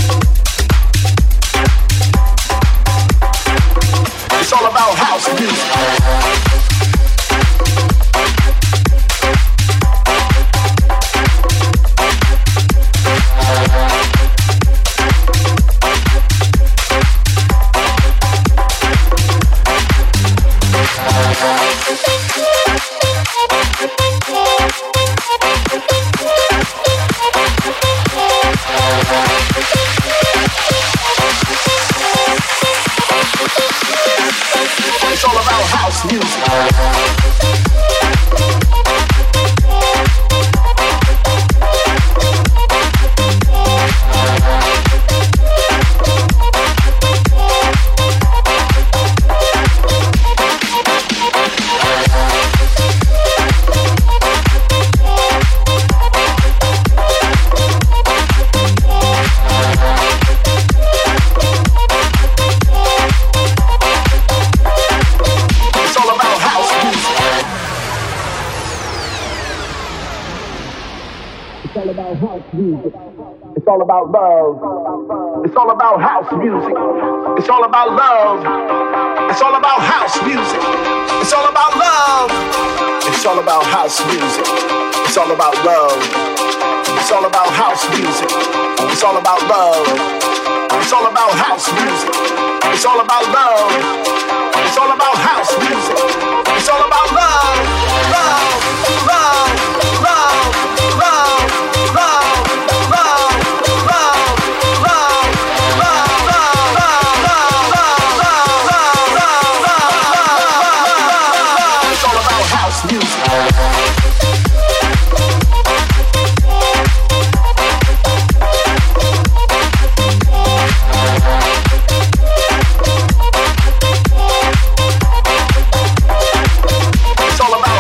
It's all about house music. It's all about love. It's all about house music. It's all about love. It's all about house music. It's all about love. It's all about house music. It's all about love. It's all about house music. It's all about love. It's all about house music. It's all about love. It's all about house music. It's all about love. Love. Love. Love. Love. Love. Love. It's all about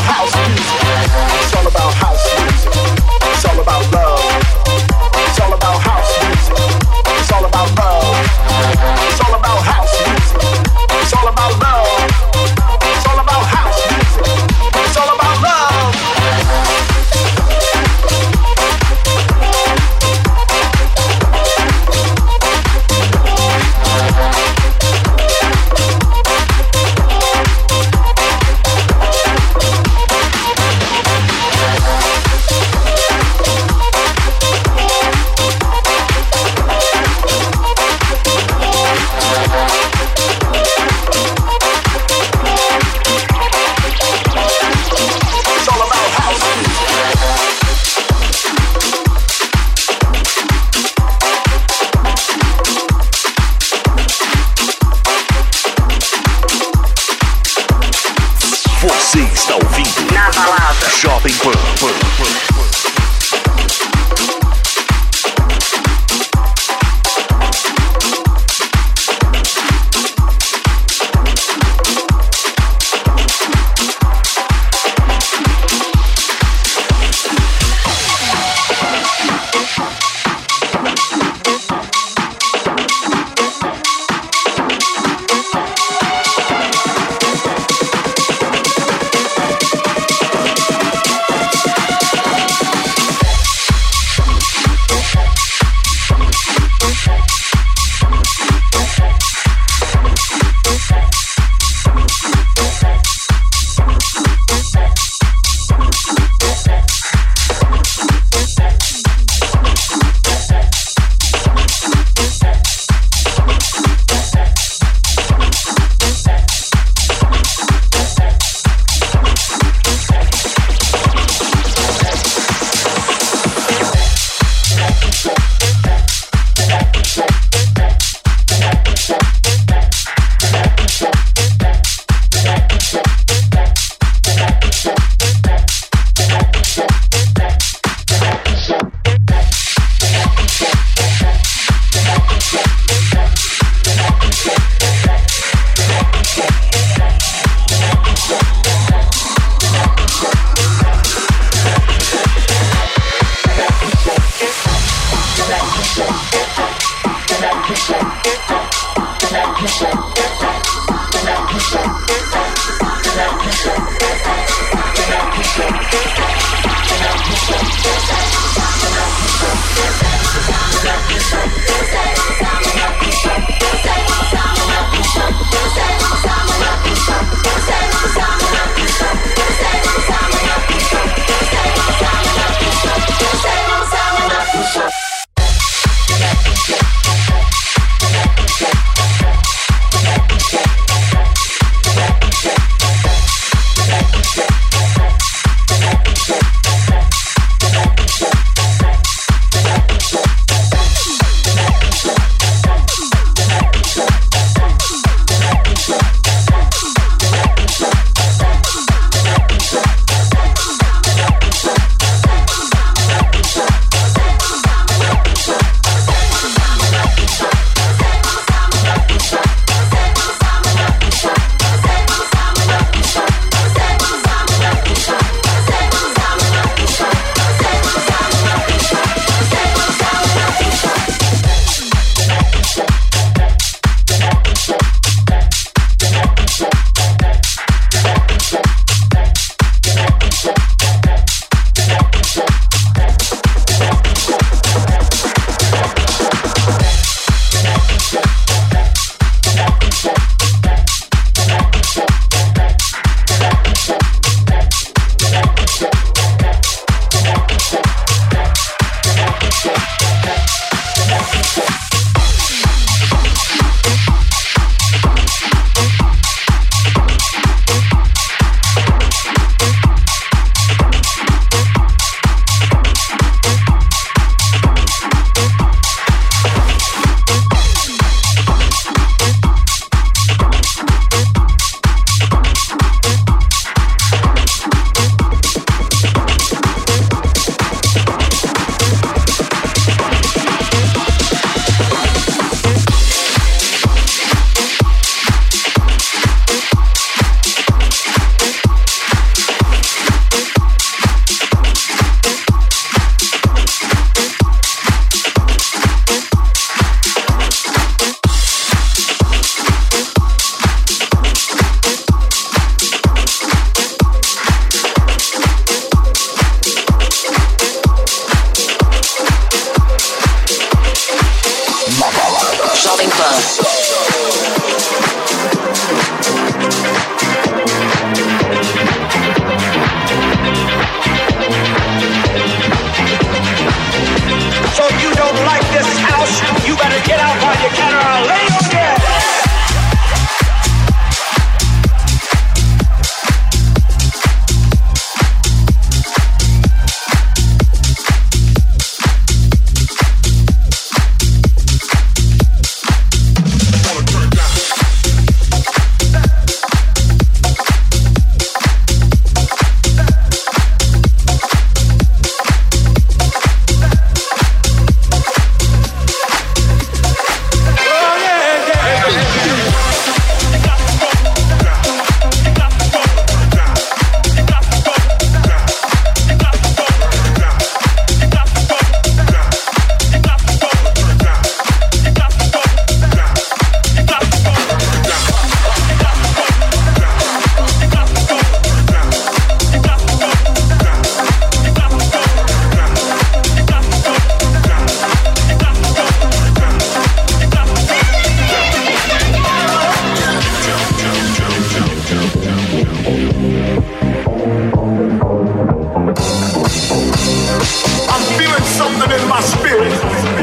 something in my spirit.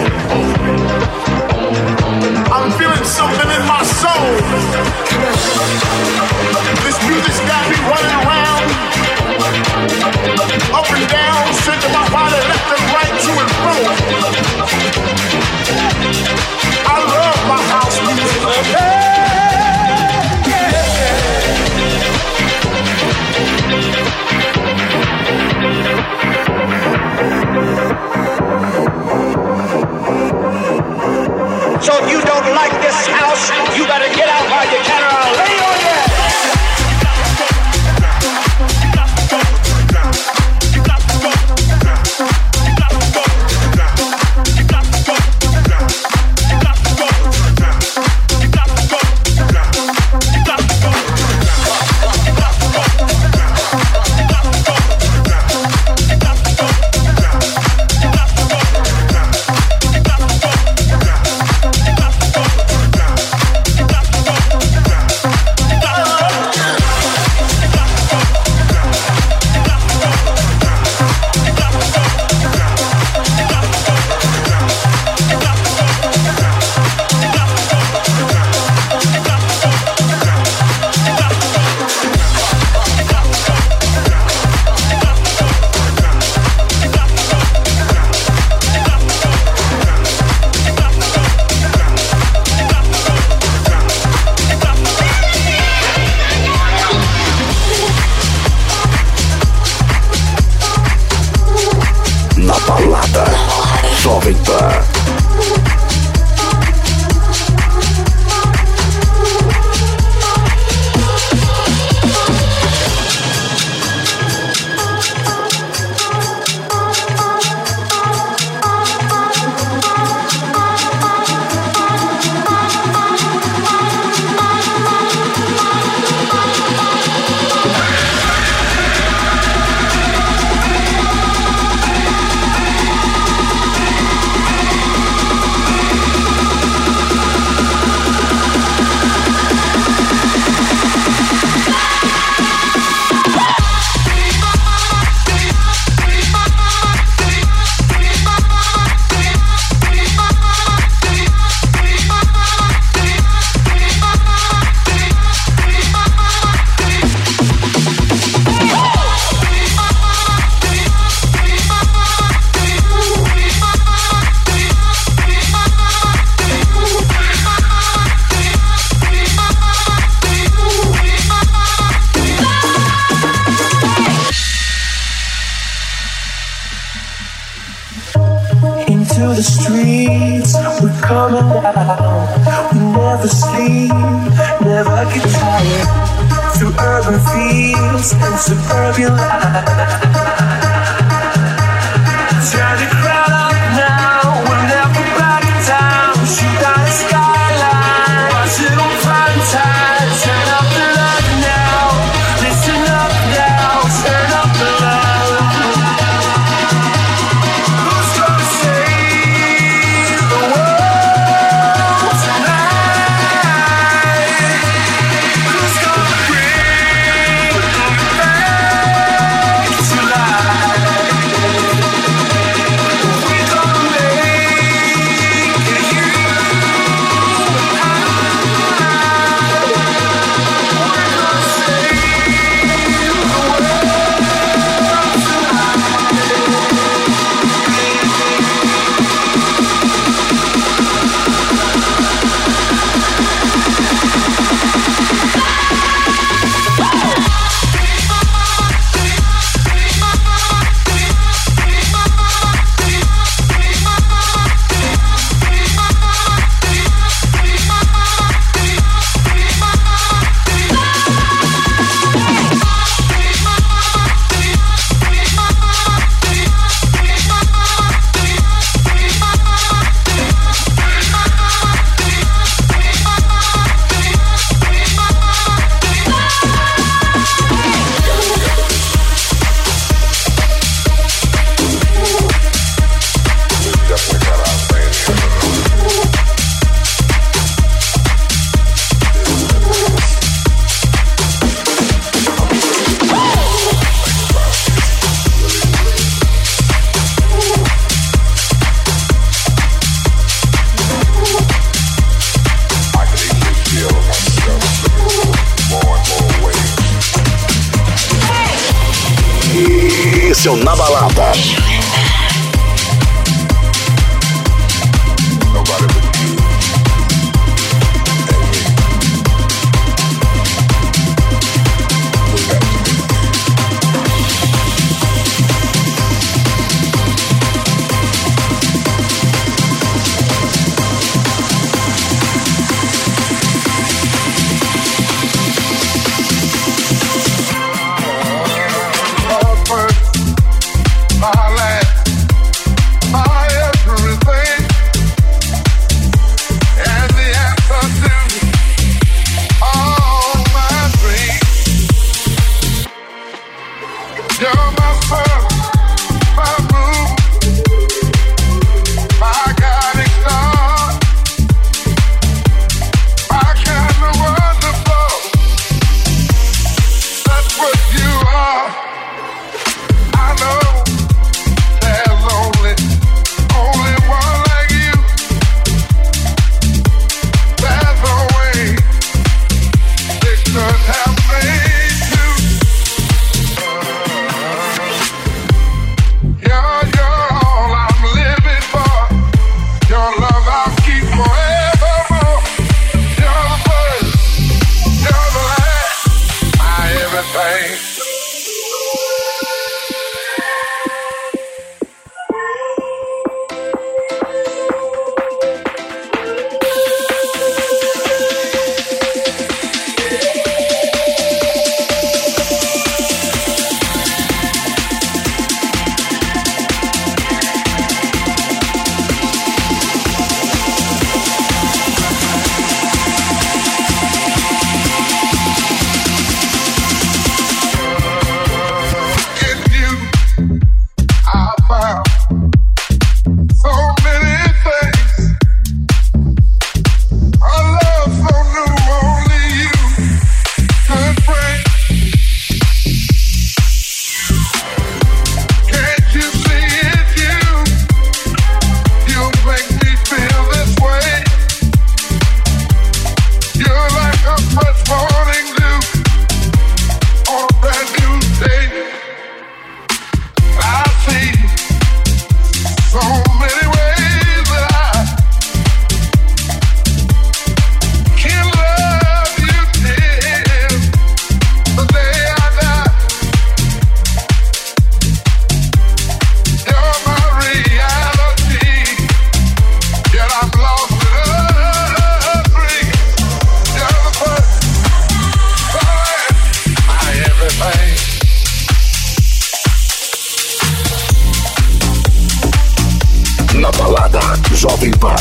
I'm feeling something in my soul. This music's got me running around, up and down, shaking my body left and right, to and fro. I love my house music. So if you don't like this house, you better get out while you can, or I'll lay on you. Jovem Pan. To the streets, we're coming down. We never sleep, never get tired. Through urban fields and suburban life. Turn the crowd up now, we'll never back down. Shoot down the skyline, watch it on prime time. Turn up the love now, listen up now, turn up the love. Tonight aconteceu na balada. Jovem Pan.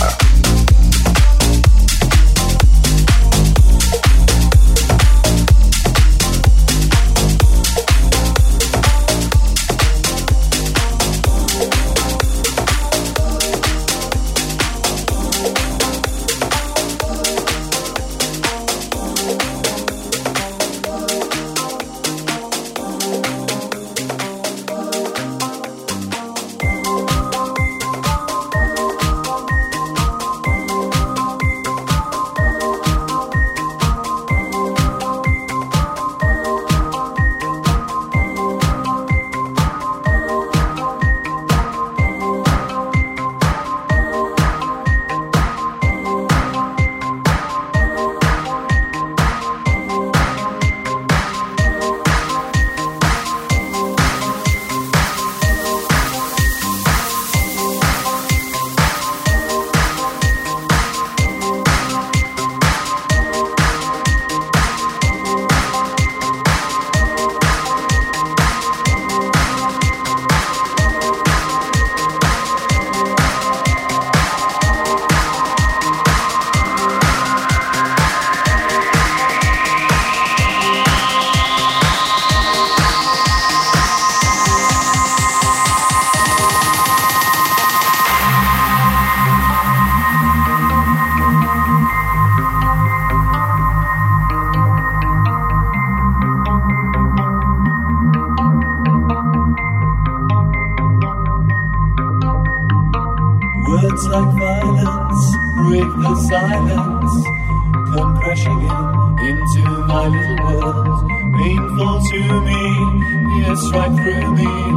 Words like violence break the silence, come crashing into my little world. Painful to me, yes, right through me,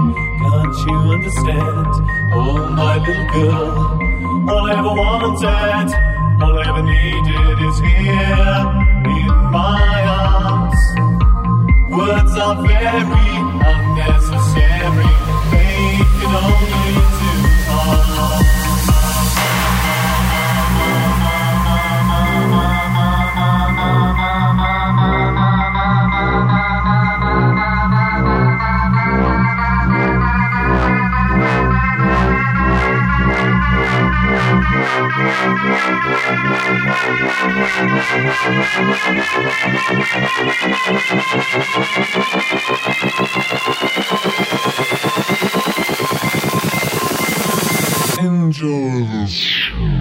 Can't you understand? Oh, my little girl. All I ever wanted, all I ever needed is here in my arms. Words are very unnecessary. They can only do harm. Enjoy this.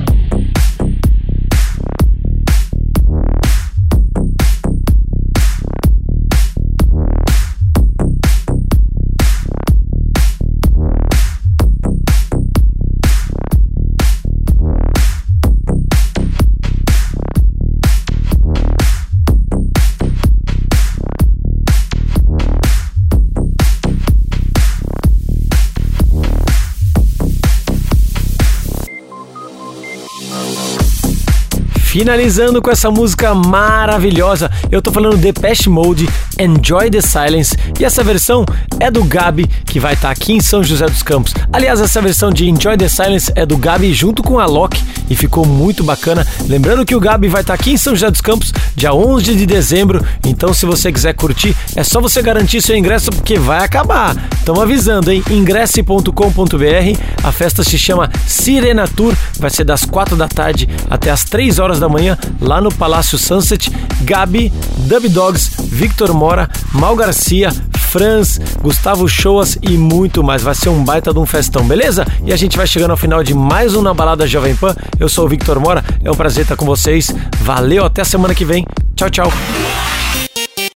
Finalizando com essa música maravilhosa, eu tô falando Depeche Mode, Enjoy the Silence, e essa versão é do Gabi, que vai estar aqui em São José dos Campos. Aliás, essa versão de Enjoy the Silence é do Gabi junto com a Loki e ficou muito bacana. Lembrando que o Gabi vai estar aqui em São José dos Campos dia 11 de dezembro, então se você quiser curtir, é só você garantir seu ingresso porque vai acabar. Estamos avisando, hein? Ingresse.com.br, a festa se chama Sirena Tour, vai ser das 4 da tarde até as 3 horas da manhã, lá no Palácio Sunset. Gabi, Dub Dogs, Victor Mora, Mal Garcia, Franz, Gustavo Shoas e muito mais. Vai ser um baita de um festão, beleza? E a gente vai chegando ao final de mais um Na Balada Jovem Pan. Eu sou o Victor Mora, é um prazer estar com vocês. Valeu, até a semana que vem. Tchau, tchau.